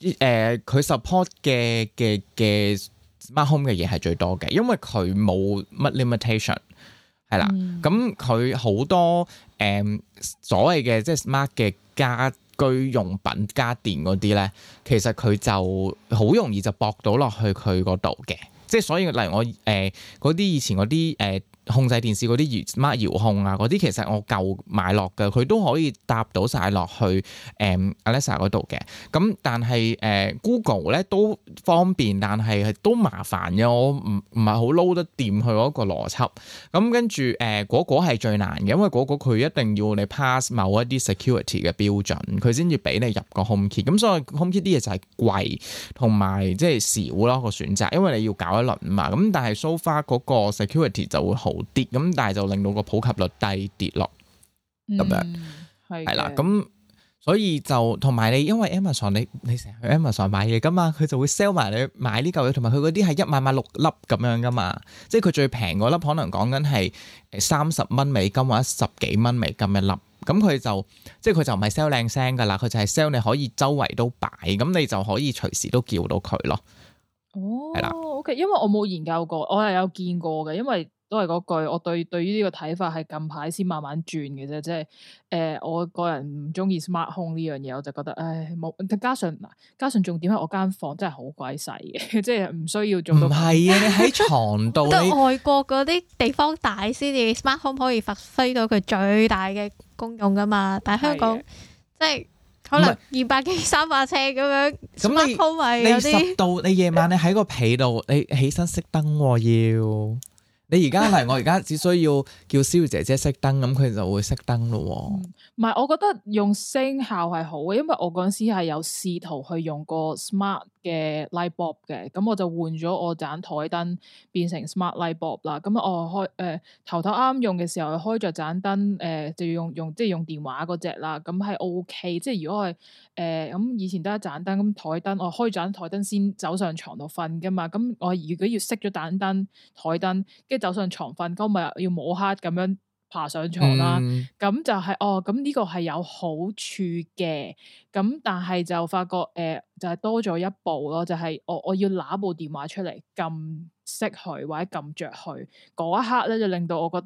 support 嘅Smart Home 嘅嘢係最多嘅，因為佢冇乜 limitation 係啦。咁佢好多所謂嘅即係 smart 嘅家居用品家電嗰啲咧，其實佢就好容易就駁到落去佢嗰度嘅。即係所以例如我嗰啲以前嗰啲控制電視嗰啲 smart 遙控啊嗰啲，其實我舊買落嘅，佢都可以搭到晒落去Alexa 嗰度嘅。咁但係Google 咧都方便，但係都麻煩嘅。我唔係好撈得掂佢嗰個邏輯。咁跟住嗰係最難嘅，因為嗰佢一定要你 pass 某一啲 security 嘅標準，佢先至俾你入個 HomeKit。咁所以 HomeKit 啲嘢就係貴同埋即係少咯個選擇，因為你要搞一輪嘛。咁但係 so far 嗰個 security 就會好啲，咁但係就令到個普及率低跌落咁樣，係啦，咁所以就同埋你因為 Amazon 你成日去 Amazon 買嘢噶嘛，佢就會 sell 埋你買呢嚿嘢，同埋佢嗰啲係一買買6粒咁樣噶嘛，即係佢最平嗰粒可能講緊係30蚊美金或者10幾蚊美金一粒，咁佢就即係佢就唔係 sell 靚聲噶啦，佢就係 sell 你可以周圍都擺，咁你就可以隨時都叫到佢咯。 哦，係啦，OK，因為我冇研究過，我係有見過嘅，因為都係嗰句，我對於呢個睇法係近排先慢慢轉嘅啫，即係我個人唔中意 smart home 呢樣嘢，我就覺得冇，加上重點係我間房真係好鬼細嘅，即係唔需要做到。唔係啊，你喺床度， 得外國嗰啲地方大先至 smart home 可以發揮到佢最大嘅功用噶嘛，但係香港即係可能200幾300尺咁樣 smart home 咪有啲。 10度，你夜晚你喺個被度，你起身熄燈要。你而家嚟，我而家只需要叫Siri姐姐熄燈，咁佢就會熄燈咯。 唔係，我覺得用聲效係好嘅，因為我嗰陣時係有試圖去用個 smart 嘅 light bulb 嘅，咁我就換咗我盞台燈變成 smart light bulb 啦。咁我頭啱用嘅時候開着盞燈，就要用即係用電話嗰隻啦。咁係 OK，即係如果係咁以前得一盞燈，咁台燈我開盞台燈先走上床度瞓噶嘛。咁我如果要熄咗盞燈台燈，跟住走上床瞓，咁咪要摸黑咁樣爬上床啦。咁就係咁呢個係有好處嘅。咁但係就發覺就係多咗一步咯，就係我要拿部電話出嚟撳熄佢或者撳着佢嗰一刻咧，就令到我覺得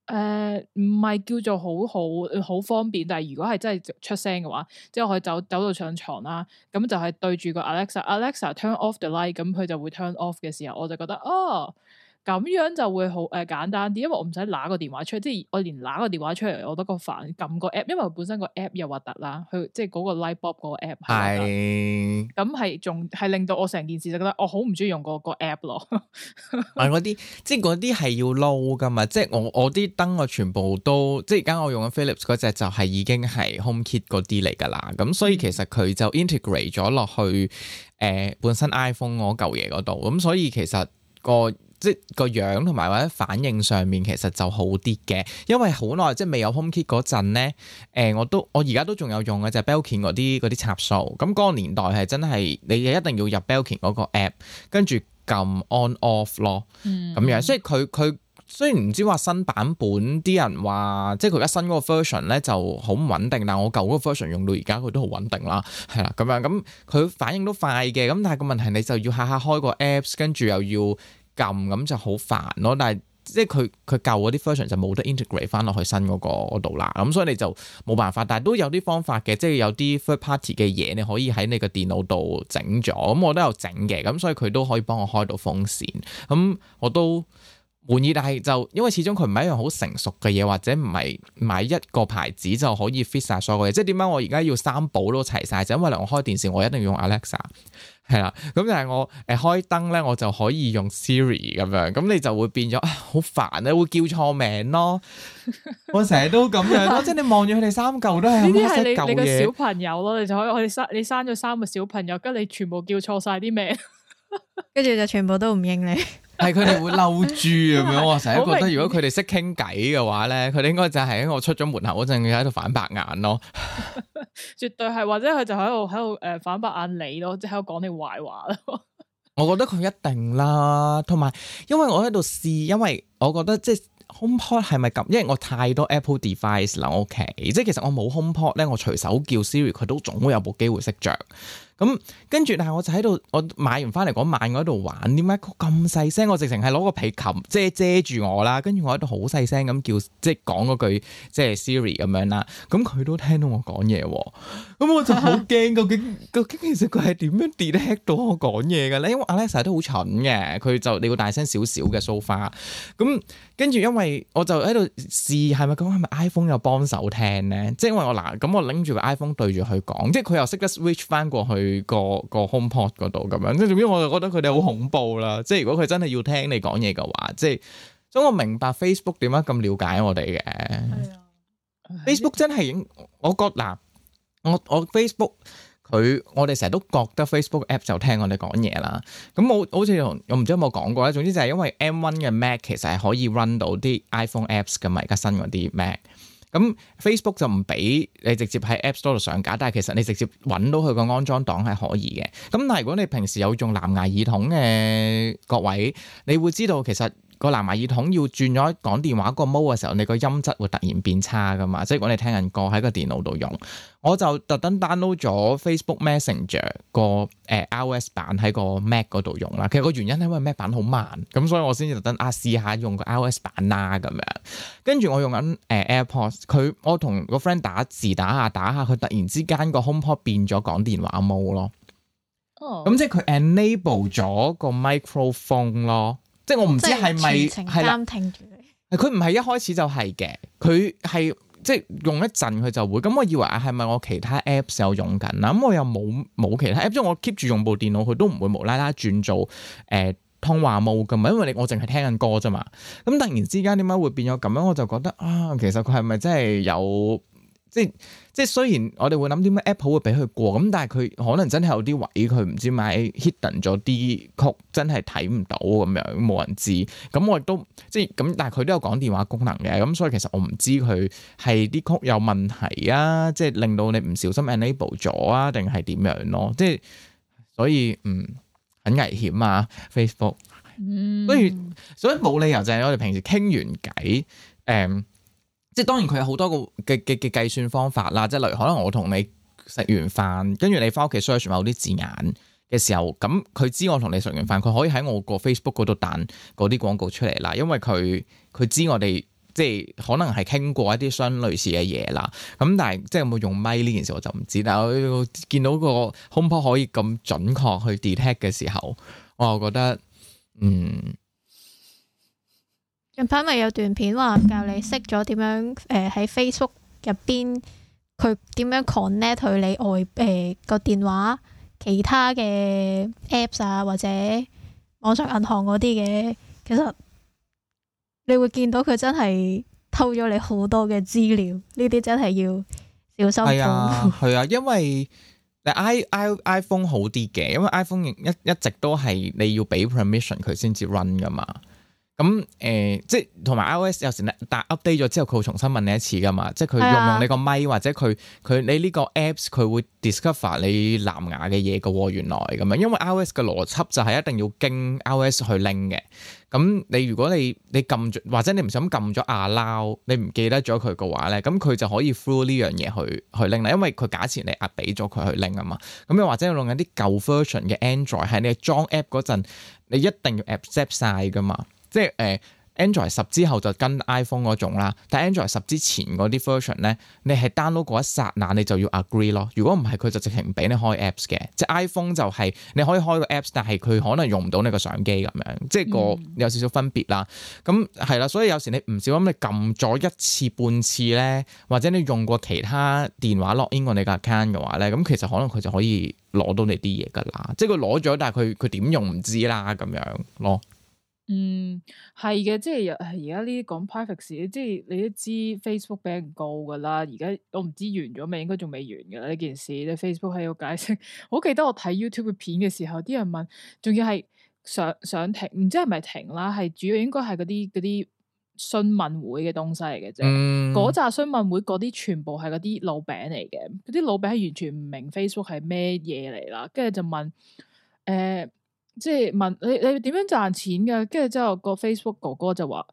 唔係叫做好方便，但係如果係真係出聲嘅話，即係我可以走到上床啦，咁就係對住個 Alexa turn off the light，咁佢就會 turn off 嘅時候，我就覺得咁樣就會好簡單啲，因為我唔使拿個電話出嚟，即係我連拿個電話出嚟，我都覺得煩，撳個 app， 因為本身個 app 又核突啦，佢即係嗰個 Lightbulb 嗰個 app 係，咁係仲係令到我成件事就覺得我好唔中意用個 app 咯。 嗰啲即係嗰啲係要撈噶嘛，即係我啲燈我全部都即係而家我用緊 Philips 嗰隻就係已經係 HomeKit 嗰啲嚟噶啦，咁所以其實佢就 integrate 咗落去本身 iPhone 嗰嚿嘢嗰度，咁所以其實即係個樣同埋或者反應上面其實就好啲嘅，因為好耐即係未有 HomeKit 嗰陣咧，我而家都仲有用嘅就係 Belkin 嗰啲插數，咁嗰個年代係真係你一定要入 Belkin 嗰個 app， 跟住撳 on off 咯，咁樣，所以佢雖然唔知話新版本啲人話，即係佢而家新嗰個 version 咧就好唔穩定，但係我舊嗰個 version 用到而家佢都好穩定啦，係啦咁樣，咁佢反應都快嘅，咁但係個問題你就要下下開個 apps， 跟住又要撳，咁就好煩咯，但係即係佢舊嗰啲 version 就冇得 integrate 翻落去新嗰個度啦，咁所以你就冇辦法，但係都有啲方法嘅，即係有啲 third party 嘅嘢你可以喺你個電腦度整咗，咁我都有整嘅，咁所以佢都可以幫我開到風扇，咁我都滿意，但係就因為始終佢唔係一樣好成熟嘅嘢，或者唔係買一個牌子就可以 fit 晒所有嘢，即係點解我而家要三寶都齊晒，就因為我開電視我一定要用 Alexa。係啦，咁但係我開燈咧，我就可以用 Siri 咁樣，咁你就會變咗好煩咧，會叫錯名咯。我成日都咁樣咯，即係你望住佢哋三嚿都係呢啲係你個小朋友咯，你就可以你生咗3個小朋友，跟住你全部叫錯晒啲名， 跟住就全部都唔應你。 係佢哋會嬲豬咁樣，我成日覺得如果佢哋識傾偈嘅話咧，佢哋應該就係喺我出咗門口嗰陣喺度反白眼咯。 絕對係，或者佢就喺度反白眼你咯，即係喺度講你壞話咯。 我覺得佢一定啦，同埋因為我喺度試，因為我覺得即係 HomePod 係咪咁？因為我太多 Apple device 啦，我屋企即係其實我冇 HomePod 咧，我隨手叫 Siri 佢都總會有部機會識着。咁跟住，但係我就喺度，我買完翻嚟嗰晚我喺度玩，點解咁細聲？我直情係攞個被冚遮住我啦，跟住我喺度好細聲咁叫，即係講嗰句即係 Siri 咁樣啦。咁佢都聽到我講嘢喎，咁我就好驚，究竟其實佢係點樣 detect 到我講嘢嘅咧？因為 Alexa 都好蠢嘅，佢就你要大聲少少嘅 so far。咁跟住，因為我就喺度試係咪 iPhone 有幫手聽咧？即係因為咁我拎住個 iPhone 對住佢講，即係佢又識得 switch 翻過去。個 HomePod 嗰度咁樣，即係總之我就覺得佢哋好恐怖啦。即係如果佢真係要聽你講嘢嘅話，即係所以我明白 Facebook 點解咁了解我哋嘅。Facebook 真係我覺嗱，我 Facebook 我哋成日都覺得 Facebook app 就聽我哋講嘢啦。咁我好似我唔知有冇講過咧。總之就係因為 M1 嘅 Mac 其實係可以 run 到啲 iPhone apps 嘅嘛，而家新嗰啲 Mac。咁 Facebook 就唔俾你直接喺 App Store 度上架，但係其實你直接揾到佢個安裝檔係可以嘅。咁但係如果你平時有用藍牙耳筒嘅各位，你會知道其實個藍牙耳筒要轉咗講電話個 mode 嘅時候，你個音質會突然變差噶嘛。即係如果你聽緊歌喺個電腦度用，我就特登 download 咗 Facebook Messenger 個iOS 版喺個 Mac 嗰度用啦。其實個原因係因為 Mac 版好慢，咁所以我先至特登試下用個 iOS 版啦咁樣。跟住我用緊AirPods，我同個 friend 打字打下，佢突然之間個 HomePod 變咗講電話 mode 咯。咁即係佢 enable 咗個 microphone 咯。即係我唔知係咪係啦，佢唔係一開始就係嘅，佢係即係用一陣佢就會。咁我以為係咪我其他 apps 有用緊啦？咁我又冇其他 app，即係我 keep 住用部電腦，佢都唔會無啦啦轉做通話模㗎嘛，因為我淨係聽緊歌啫嘛。咁突然之間點解會變咗咁樣？我就覺得其實佢係咪真係有即係雖然我哋會諗點解 Apple 會俾佢過，咁但係佢可能真係有啲位佢唔知買 hidden 咗啲曲，真係睇唔到咁樣，冇人知。咁我亦都即係咁，但係佢都有講電話功能嘅，咁所以其實我唔知佢係啲曲有問題啊，即係令到你唔小心 enable 咗啊，定係點樣咯？即係所以很危險啊 Facebook。所以冇理由就係我哋平時傾完偈即係當然佢有好多個嘅計算方法啦，即係例如可能我同你食完飯，跟住你翻屋企 search 某啲字眼嘅時候，咁佢知我同你食完飯，佢可以喺我個 Facebook 嗰度彈嗰啲廣告出嚟啦，因為佢知我哋即係可能係傾過一啲相類似嘅嘢啦。咁但係即係有冇用咪呢件事我就唔知。但係我見到個 HomePod 可以咁準確去 detect 嘅時候，我又覺得近排咪有段片話教你識咗點樣喺 Facebook 入邊佢點樣 connect 去你外個電話其他嘅 apps 啊或者網上銀行嗰啲嘅，其實你會見到佢真係偷咗你好多嘅資料，呢啲真係要小心。係啊，因為iPhone 好啲嘅，因為 iPhone 一直都係你要俾 permission 佢先至 run 噶嘛。咁即係同埋 iOS 有時但 update 咗之後，佢會重新問你一次噶嘛，即係佢用你個咪或者佢你呢個 apps 佢會 discover 你藍牙嘅嘢嘅喎，原來咁樣，因為 iOS 嘅邏輯就係一定要經 iOS 去拎嘅。咁你如果你撳咗或者你唔想撳咗 allow， 你唔記得咗佢嘅話咧，咁佢就可以 through 呢樣嘢去拎啦，因為佢假設你俾咗佢去拎啊嘛。咁又或者用緊啲舊 version 嘅 Android 喺你裝 app 嗰陣，你一定要 accept 晒噶嘛。即係Android 10之後就跟 iPhone 嗰種啦，但 Android 10之前嗰啲 version 咧，你係 download 嗰一剎那你就要 agree 咯。如果唔係佢就直情唔俾你開 apps 嘅。即係 iPhone 就係你可以開個 apps， 但係佢可能用唔到你個相機咁樣，即係個有少少分別啦。咁係啦，所以有時你唔小心你撳咗一次半次咧，或者你用過其他電話 login 過你個 account 嘅話咧，咁其實可能佢就可以攞到你啲嘢噶啦。即係佢攞咗，但係佢點用唔知啦咁樣咯。 係嘅，即係而家呢啲講 privacy，即係你都知 Facebook 俾人告噶啦。而家我唔知完咗未，應該仲未完噶啦呢件事。你 Facebook 係要解釋。我記得我睇 YouTube 嘅片嘅時候，啲人問，仲要係想停，唔知係咪停啦？係主要應該係嗰啲詢問會嘅東西嚟嘅啫。嗰紮詢問會嗰啲全部係嗰啲老餅嚟嘅，嗰啲老餅係完全唔明 Facebook 係咩嘢嚟啦，跟住就問即係問你點樣賺錢㗎？跟住之後個 Facebook 哥哥就話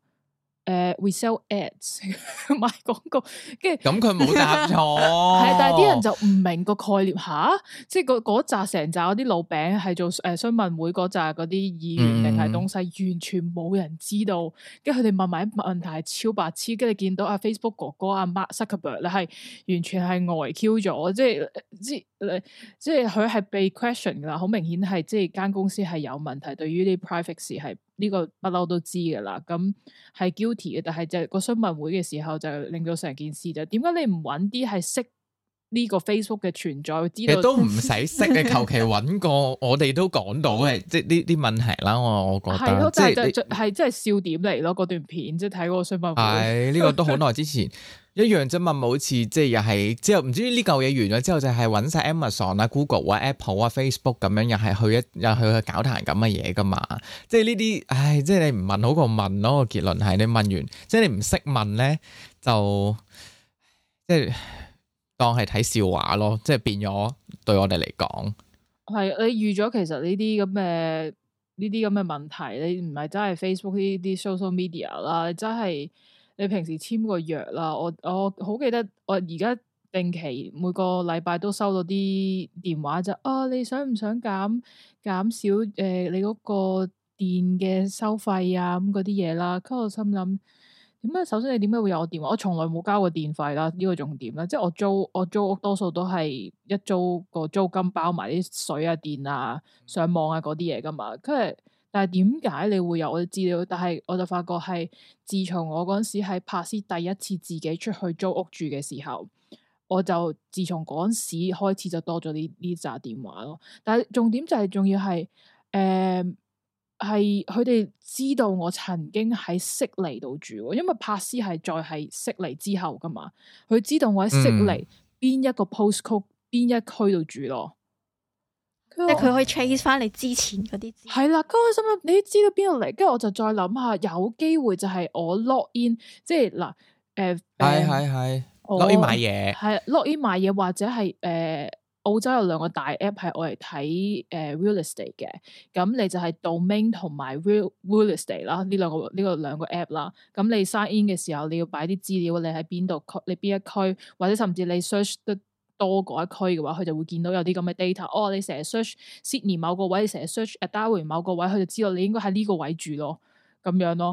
we sell ads 賣廣告，跟住咁佢冇答錯， 係但係啲人就唔明個概念吓，即係嗰紮成紮嗰啲老餅係做詢問會嗰紮嗰啲議員定係東西，完全冇人知道。跟住佢哋問埋啲問題係超白痴，跟住見到阿 Facebook 哥哥阿 Mark Zuckerberg 咧係完全係呆 Q 咗，即係佢係被 question 噶啦，好明顯係即係間公司係有問題，對於啲 privacy 係。呢個不嬲都知噶啦，咁係 guilty 嘅，但係就個詢問會嘅時候就令到成件事就點解你唔揾啲係識呢個 Facebook 嘅存在，知道都唔使識嘅，求其揾個我哋都講到嘅，即係呢啲問題啦。我覺得係咯， 即係真係笑點嚟咯。嗰段片即係睇嗰個詢問會， 係呢個都好耐之前。一樣啫嘛，好似即係又係之後唔知呢嚿嘢完咗之後就係揾晒 Amazon 啊、Google 啊、Apple 啊、Facebook 咁樣，又係去搞壇咁嘅嘢噶嘛。即係呢啲，即係你唔問好過問咯。個結論係你問完，即係你唔識問咧，就即係當係睇笑話咯。即係變咗對我哋嚟講， 係你預咗其實呢啲咁嘅問題，你唔係真係 Facebook 呢啲 social media 啦，你真係。你平時簽個約啦，我好記得我而家定期每個禮拜都收到啲電話就你想唔想減少你嗰個電嘅收費啊咁嗰啲嘢啦，跟住我心諗點解？首先你點解會有我電話？我從來冇交過電費啦，呢個重點啦，即係我租屋多數都係一租個租金包埋啲水啊、電啊、上網啊嗰啲嘢噶嘛，跟住。但係點解你會有我啲資料？但係我就發覺係自從我嗰陣時喺柏斯第一次自己出去租屋住嘅時候，我就自從嗰陣時開始就多咗呢紮電話咯。但係重點就係仲要係係佢哋知道我曾經喺悉尼度住，因為柏斯係再係悉尼之後噶嘛，佢知道我喺悉尼邊一個 postcode 邊一區度住咯。 即係佢可以 trace 翻你之前嗰啲， 係啦。嗰個心諗你知道邊度嚟，跟住我就再諗下，有機會就係我 log in，即係嗱， 係 log in 買嘢， 係 log in 買嘢，或者係澳洲有兩個大 app 係我嚟睇real estate 嘅，咁你就係 domain 同埋 real estate 啦，呢兩個 app 啦，咁你 sign in 嘅時候你要擺啲資料，你喺邊度區，你邊一區，或者甚至你 search 得多嗰一區嘅話，佢就會見到有啲咁嘅 data。你成日 search Sydney 某個位，你成日 search Darwin 某個位，佢就知道你應該喺呢個位住咯，咁樣咯。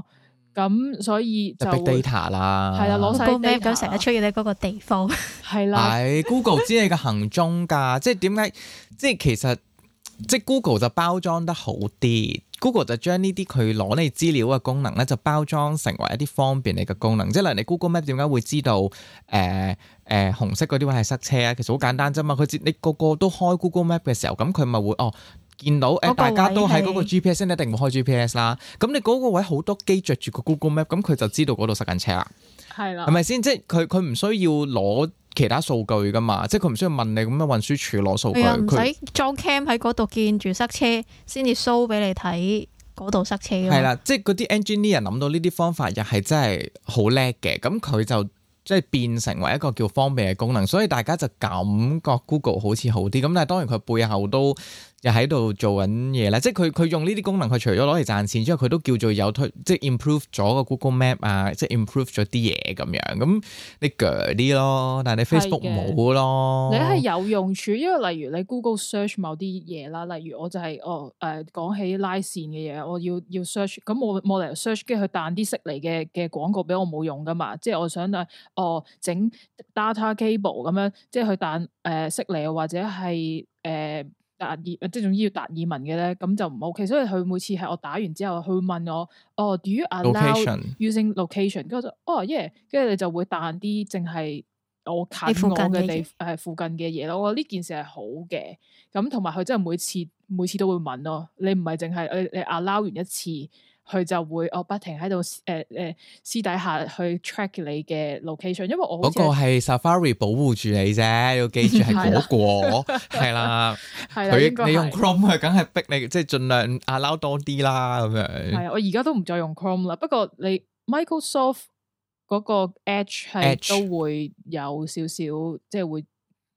咁所以就 big data 啦， 係啦，攞晒 Google Map 咁成日出現喺嗰個地方， 係啦， 係 Google 知你嘅行蹤㗎，即係點解？即係其實即係 Google 就包裝得好啲。Google 就將呢啲佢攞你資料嘅功能咧，就包裝成為一啲方便你嘅功能。即係例如你 Google Map 點解會知道紅色嗰啲位係塞車啊？其實好簡單啫嘛。你個個都開 Google Map 嘅時候，咁佢咪會見到大家都喺嗰個 GPS，一定會開 GPS 啦。咁你嗰個位好多機着住個 Google Map，咁佢就知道嗰度塞緊車啦。係啦，係咪先？即係佢唔需要攞其他數據噶嘛，即係佢唔需要問你咁樣運輸署攞數據， 唔使裝 cam 喺嗰度見住塞車先至 show 俾你睇嗰度塞車。係啦，即係嗰啲 engineer 諗到呢啲方法又係真係好叻嘅，咁佢就即係變成為一個叫方便嘅功能，所以大家就感覺 Google 好似好啲。咁但係當然佢背後都又喺度做緊嘢咧，即係佢用呢啲功能，佢除咗攞嚟賺錢之外，佢都叫做有即係 improve 咗個 Google Map 啊，即係 improve 咗啲嘢咁樣。咁你鋸啲咯，但係你 Facebook 冇咯。 你係有用處，因為例如你 Google search 某啲嘢啦，例如我就係講起拉線嘅嘢，我要 search，咁我冇理由 search 跟住佢彈啲悉尼嘅廣告俾我冇用噶嘛，即係我想整 data cable 咁樣，即係佢彈悉尼或者係達爾，即係總之要達爾文嘅咧，咁就唔 OK。所以佢每次係我打完之後，佢會問我，Do you allow using location？ 跟住我就yeah，跟住你就會彈啲淨係我近我嘅附近嘅嘢咯。我覺得呢件事係好嘅，咁同埋佢真係每次都會問咯。你唔係淨係你 allow 完一次。佢就會不停喺度私底下去 track 你嘅 location，因為我嗰個係 Safari 保護住你啫，要記住係嗰個係啦。你用 Chrome 佢梗係逼你，即係盡量 allow 多啲啦咁樣。 係啊，我而家都唔再用 Chrome 啦。不過你 Microsoft 嗰個 Edge 係都會有少少，即係會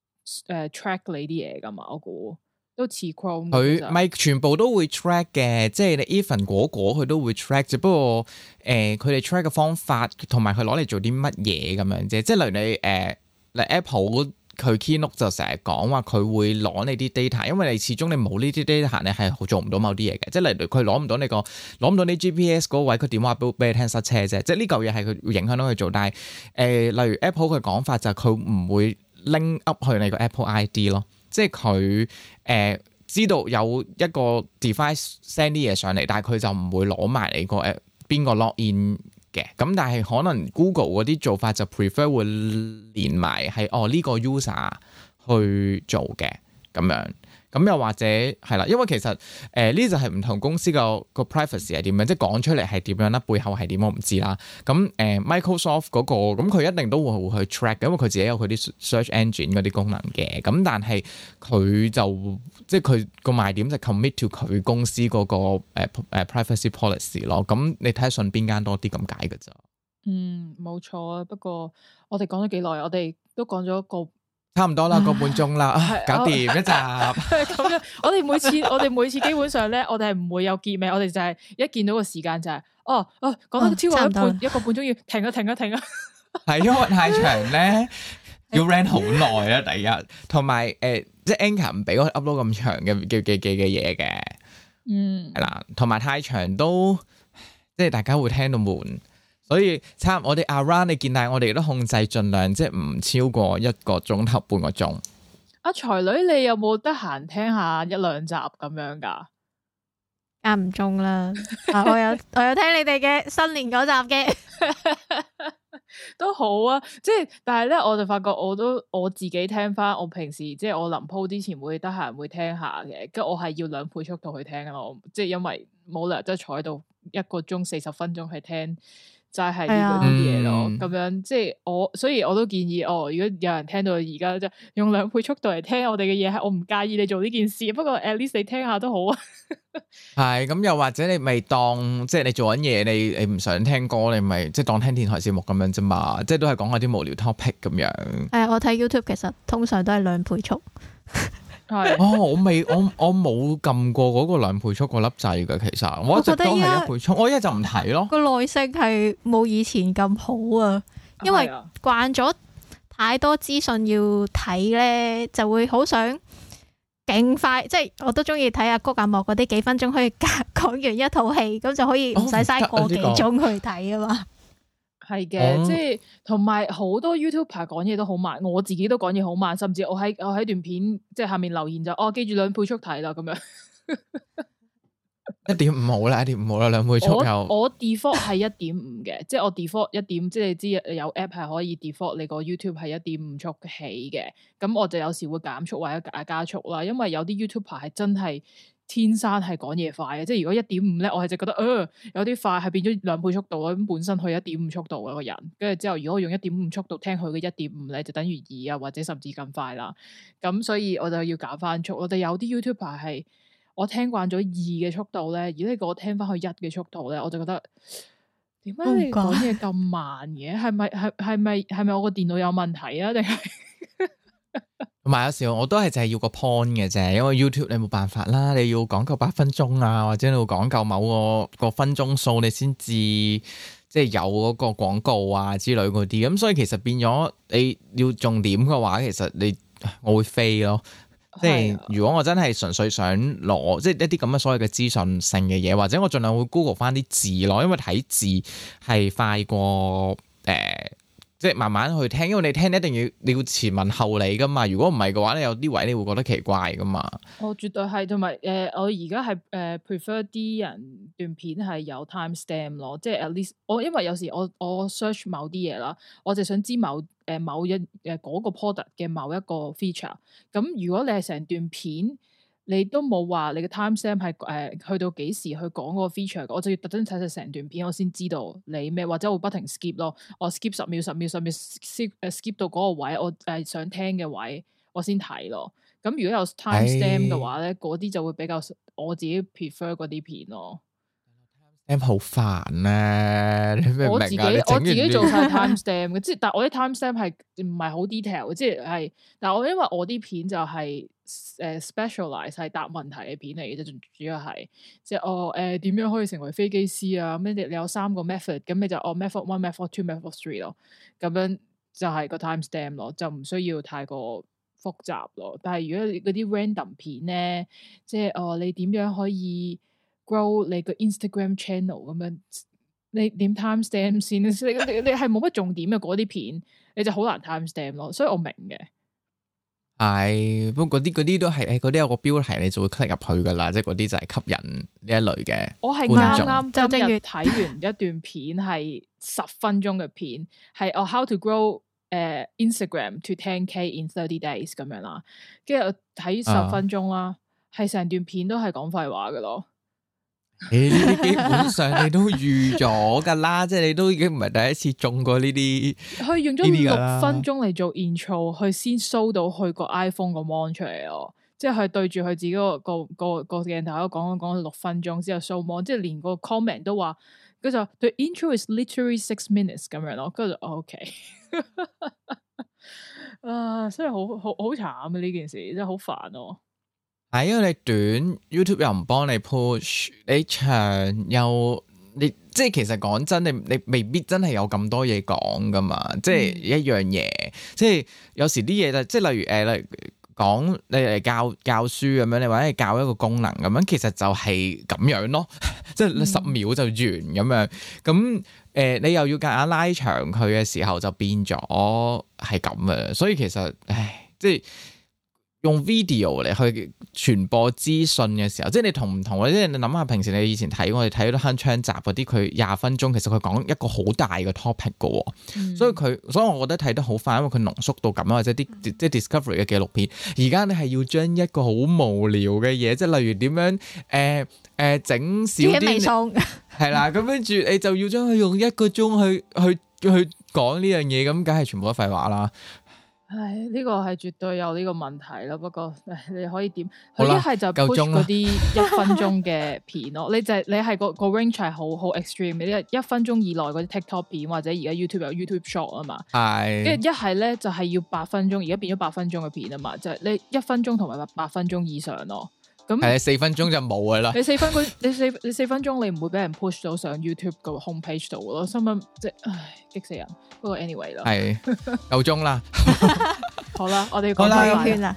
track 你啲嘢噶嘛，我估。都似 Chrome， 佢咪全部都會 track 嘅，即係你 even 果佢都會 track，只不過佢哋 track 嘅方法同埋佢攞嚟做啲乜嘢咁樣啫。即係例如你Apple 佢 Keynote 就成日講話佢會攞你啲 data， 因為你始終你冇呢啲 data， 你係做唔到某啲嘢嘅。即係例如佢攞唔到你 GPS 嗰位，佢點話俾你聽塞車啫。即係呢嚿嘢係佢會影響到佢做，但係例如 Apple 佢講法就係佢唔會 link up 去你個 Apple ID 咯。即係佢知道有一個 device send 啲嘢上嚟，但係佢就唔會攞埋你個邊個 login 嘅。咁但係可能 Google 嗰啲做法就 prefer 會連埋係呢個 user 去做嘅咁樣。咁又或者係啦，因為其實呢就係唔同公司個 privacy 係點樣，即係講出嚟係點樣啦，背後係點我唔知啦。咁Microsoft 嗰個咁佢一定都會去 track，因為佢自己有佢啲 search engine 嗰啲功能嘅。咁但係佢就即係佢個賣點就 commit to 佢公司嗰個privacy policy 咯。咁你睇下信邊間多啲咁解㗎咋？ 冇錯啊。不過我哋講咗幾耐？我哋都講咗個。 差唔多啦，個半鐘啦，搞掂一集。 咁樣，我哋每次基本上咧，我哋係唔會有結尾，我哋就係一見到個時間就係，講得超過一個半鐘要停啊！ 係因為太長咧，要 run 好耐啦，第一，同埋即係 Anchor 唔俾我 upload 咁長嘅嘢嘅，係啦，同埋太長都即係大家會聽到悶。所以我哋 around 你見，但係我哋都控制盡量即係唔超過1個鐘頭半個鐘。 阿才女，你有冇得閒聽下一兩集咁樣噶？ 間唔中啦，我有聽你哋嘅新年嗰集嘅， 都好啊。即係但係咧，我就發覺我自己聽翻，我平時即係我臨鋪之前會得閒會聽下嘅，跟住我係要2倍速度去聽咯。即係因為冇理由即係坐喺度1個鐘40分鐘去聽。就係呢啲嘢咯，咁樣即係所以我都建議如果有人聽到而家即係用2倍速度嚟聽我哋嘅嘢，係我唔介意你做呢件事，不過 at least 你聽下都好啊。 係咁，又或者你咪當即係你做緊嘢，你唔想聽歌，你咪即係當聽電台節目咁樣啫嘛，即係都係講下啲無聊 topic 咁樣。 我睇 YouTube 其實通常都係2倍速。 我冇撳過嗰個2倍速嗰粒掣嘅，其實我一直都係1倍速，我一就唔睇咯。 個耐性係冇以前咁好啊，因為慣咗太多資訊要睇咧，就會好想勁快，即係我都中意睇阿谷阿莫嗰啲幾分鐘可以講完一套戲，咁就可以唔使嘥個幾鐘去睇啊嘛。 係嘅，即係同埋好多 YouTuber 講嘢都好慢，我自己都講嘢好慢，甚至我喺段片即係下面留言就記住2倍速睇啦咁樣。 1.5好啦，1.5好啦，2倍速又。我 default 係1.5嘅，即係我 default 1.5，即係你知有 app 係可以 default 你個 YouTube 係1.5速起嘅，咁我就有時會減速或者加速啦，因為有啲 YouTuber 係真係天生係講嘢快嘅，即係如果1.5咧，我係就覺得有啲快係變咗2倍速度咯，咁本身去1.5速度嘅個人，跟住之後如果我用1.5速度聽佢嘅1.5咧，就等於2啊，或者甚至更快啦，咁所以我就要減翻速。我哋有啲 YouTuber 係。我聽慣咗2嘅速度咧，如果你叫我聽翻去1嘅速度咧，我就覺得點解你講嘢咁慢嘅？係咪我個電腦有問題啊？定係同埋有時候我都係就係要個 point 嘅啫，因為 YouTube 你冇辦法啦，你要講夠8分鐘啊，或者你要講夠某個分鐘數，你先至即係有嗰個廣告啊之類嗰啲。咁所以其實變咗你要重點嘅話，其實我會飛咯。即係如果我真係純粹想攞即係一啲咁嘅所謂嘅資訊性嘅嘢，或者我盡量會 Google 翻啲字咯，因為睇字係快過即係慢慢去聽，因為你聽一定你要前文後理噶嘛。如果唔係嘅話，你有啲位你會覺得奇怪噶嘛。我絕對係，同埋我而家係prefer 啲人段片係有 timestamp 咯，即係 at least 因為有時我 search 某啲嘢啦，我就想知某一嗰個 product 嘅某一個 feature。咁如果你係成段片，你都冇話你嘅 timestamp 係去到幾時去講嗰個 feature，我就要特登睇晒成段片，我先知道你咩，或者我會不停 skip 咯，我 skip 10秒 skip 到嗰個位，我想聽嘅位，我先睇咯。咁如果有 timestamp 嘅話咧，嗰啲就會比較我自己 prefer 嗰啲片咯。 M 好煩啊！你明唔明啊？ 我自己做晒 timestamp 嘅，即係但係我啲 timestamp 係唔係好 detail，即係但係因為我啲片就係specialize 係答問題嘅片嚟嘅啫，主要係即係點樣可以成為飛機師啊？咁你有3個 method， 咁你就method 1、method 2、method 3咯，咁樣就係個 timestamp 咯，就唔需要太過複雜咯。但係如果嗰啲 random 片咧，即係你點樣可以 grow 你個 Instagram channel 咁樣，你點 timestamp 先？你係冇乜重點嘅嗰啲片，你就好難 timestamp 咯。所以我明嘅。 係，不過嗰啲都係，嗰啲有個標題你就會 click 入去噶啦，即係嗰啲就係吸引呢一類嘅。 我係啱今日睇完一段片，係10分鐘嘅片，係how to grow Instagram to 10K in 30 days 咁樣啦。跟住睇10分鐘啦，係成段片都係講廢話噶咯。 呢啲基本上你都預咗噶啦，即係你都已經唔係第一次中過呢啲。佢用咗 6分鐘嚟做 intro， 佢先 show 到佢個 iPhone 個 mon 出嚟咯。即係佢對住佢自己個鏡頭講6分鐘之後 show mon， 即係連個 comment 都話，佢就 The intro is literally 6 minutes 咁樣咯。跟住就 OK， 所以好慘啊！呢件事真係好煩咯。 係因為你短 YouTube 又唔幫你 push， 你長又你即係其實講真，你未必真係有咁多嘢講噶嘛，即係一樣嘢，即係有時啲嘢就即係例如講你嚟教書咁樣，你或者係教一個功能咁樣，其實就係咁樣咯，即係10秒就完咁樣，咁你又要夾硬拉長佢嘅時候，就變咗係咁嘅，所以其實即係。用 video 嚟去傳播資訊嘅時候，即係你同唔同啊？即係你諗下，平時你以前睇我哋睇嗰啲鏗鏘集嗰啲，佢20分鐘，其實佢講一個好大嘅 topic 嘅，所以我覺得睇得好快，因為佢濃縮到咁啊，或者啲即係 Discovery 嘅紀錄片。而家你係要將一個好無聊嘅嘢，即係例如點樣整少啲，係啦，咁跟住你就要將佢用1個鐘去講呢樣嘢，咁梗係全部都廢話啦。 唉，呢個係絕對有呢個問題咯。不過你可以點？佢一係就 push 嗰啲1分鐘嘅片咯。你係個 range 係好 extreme 嘅，呢1分鐘以內嗰啲 TikTok 片，或者而家 YouTube 有 YouTube Short 啊嘛。係。跟住一係咧就係要8分鐘，而家變咗8分鐘嘅片啊嘛。就係你1分鐘同埋8分鐘以上咯。咁係4分鐘就冇噶啦。你4分鐘你唔會俾人 push 到上 YouTube 個 homepage 度咯。新聞即係激死人。不過 anyway 啦，係夠鐘啦。好啦，我哋講翻圈啦。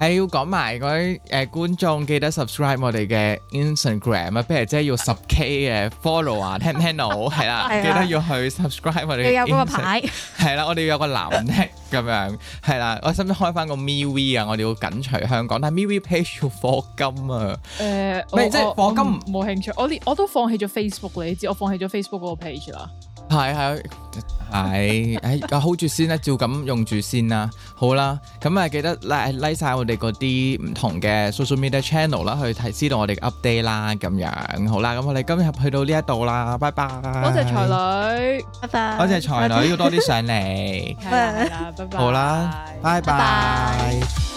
要講埋嗰啲觀眾記得 subscribe 我哋嘅 Instagram 啊，不如即係要10K 嘅 follow 啊，聽唔聽到？係啦，記得要去 subscribe 我哋。 要有嗰個牌。係啦，我哋要有個藍剔咁樣。係啦，我使唔使開翻個 MeWe 啊？我哋要緊隨香港，但係 MeWe page 要課金啊。即係課金冇興趣。我都放棄咗 Facebook 你知我放棄咗 Facebook 嗰個 page 啦。 係，hold 住先啦，照咁用住先啦，好啦，咁啊記得 like 晒我哋嗰啲唔同嘅 social media channel 啦，去知道我哋嘅 update 啦，咁樣好啦，咁我哋今日去到呢一度啦，拜拜。 多謝才女， 拜拜。 多謝才女，要多啲上嚟。 係啦，拜拜。 好啦，拜拜。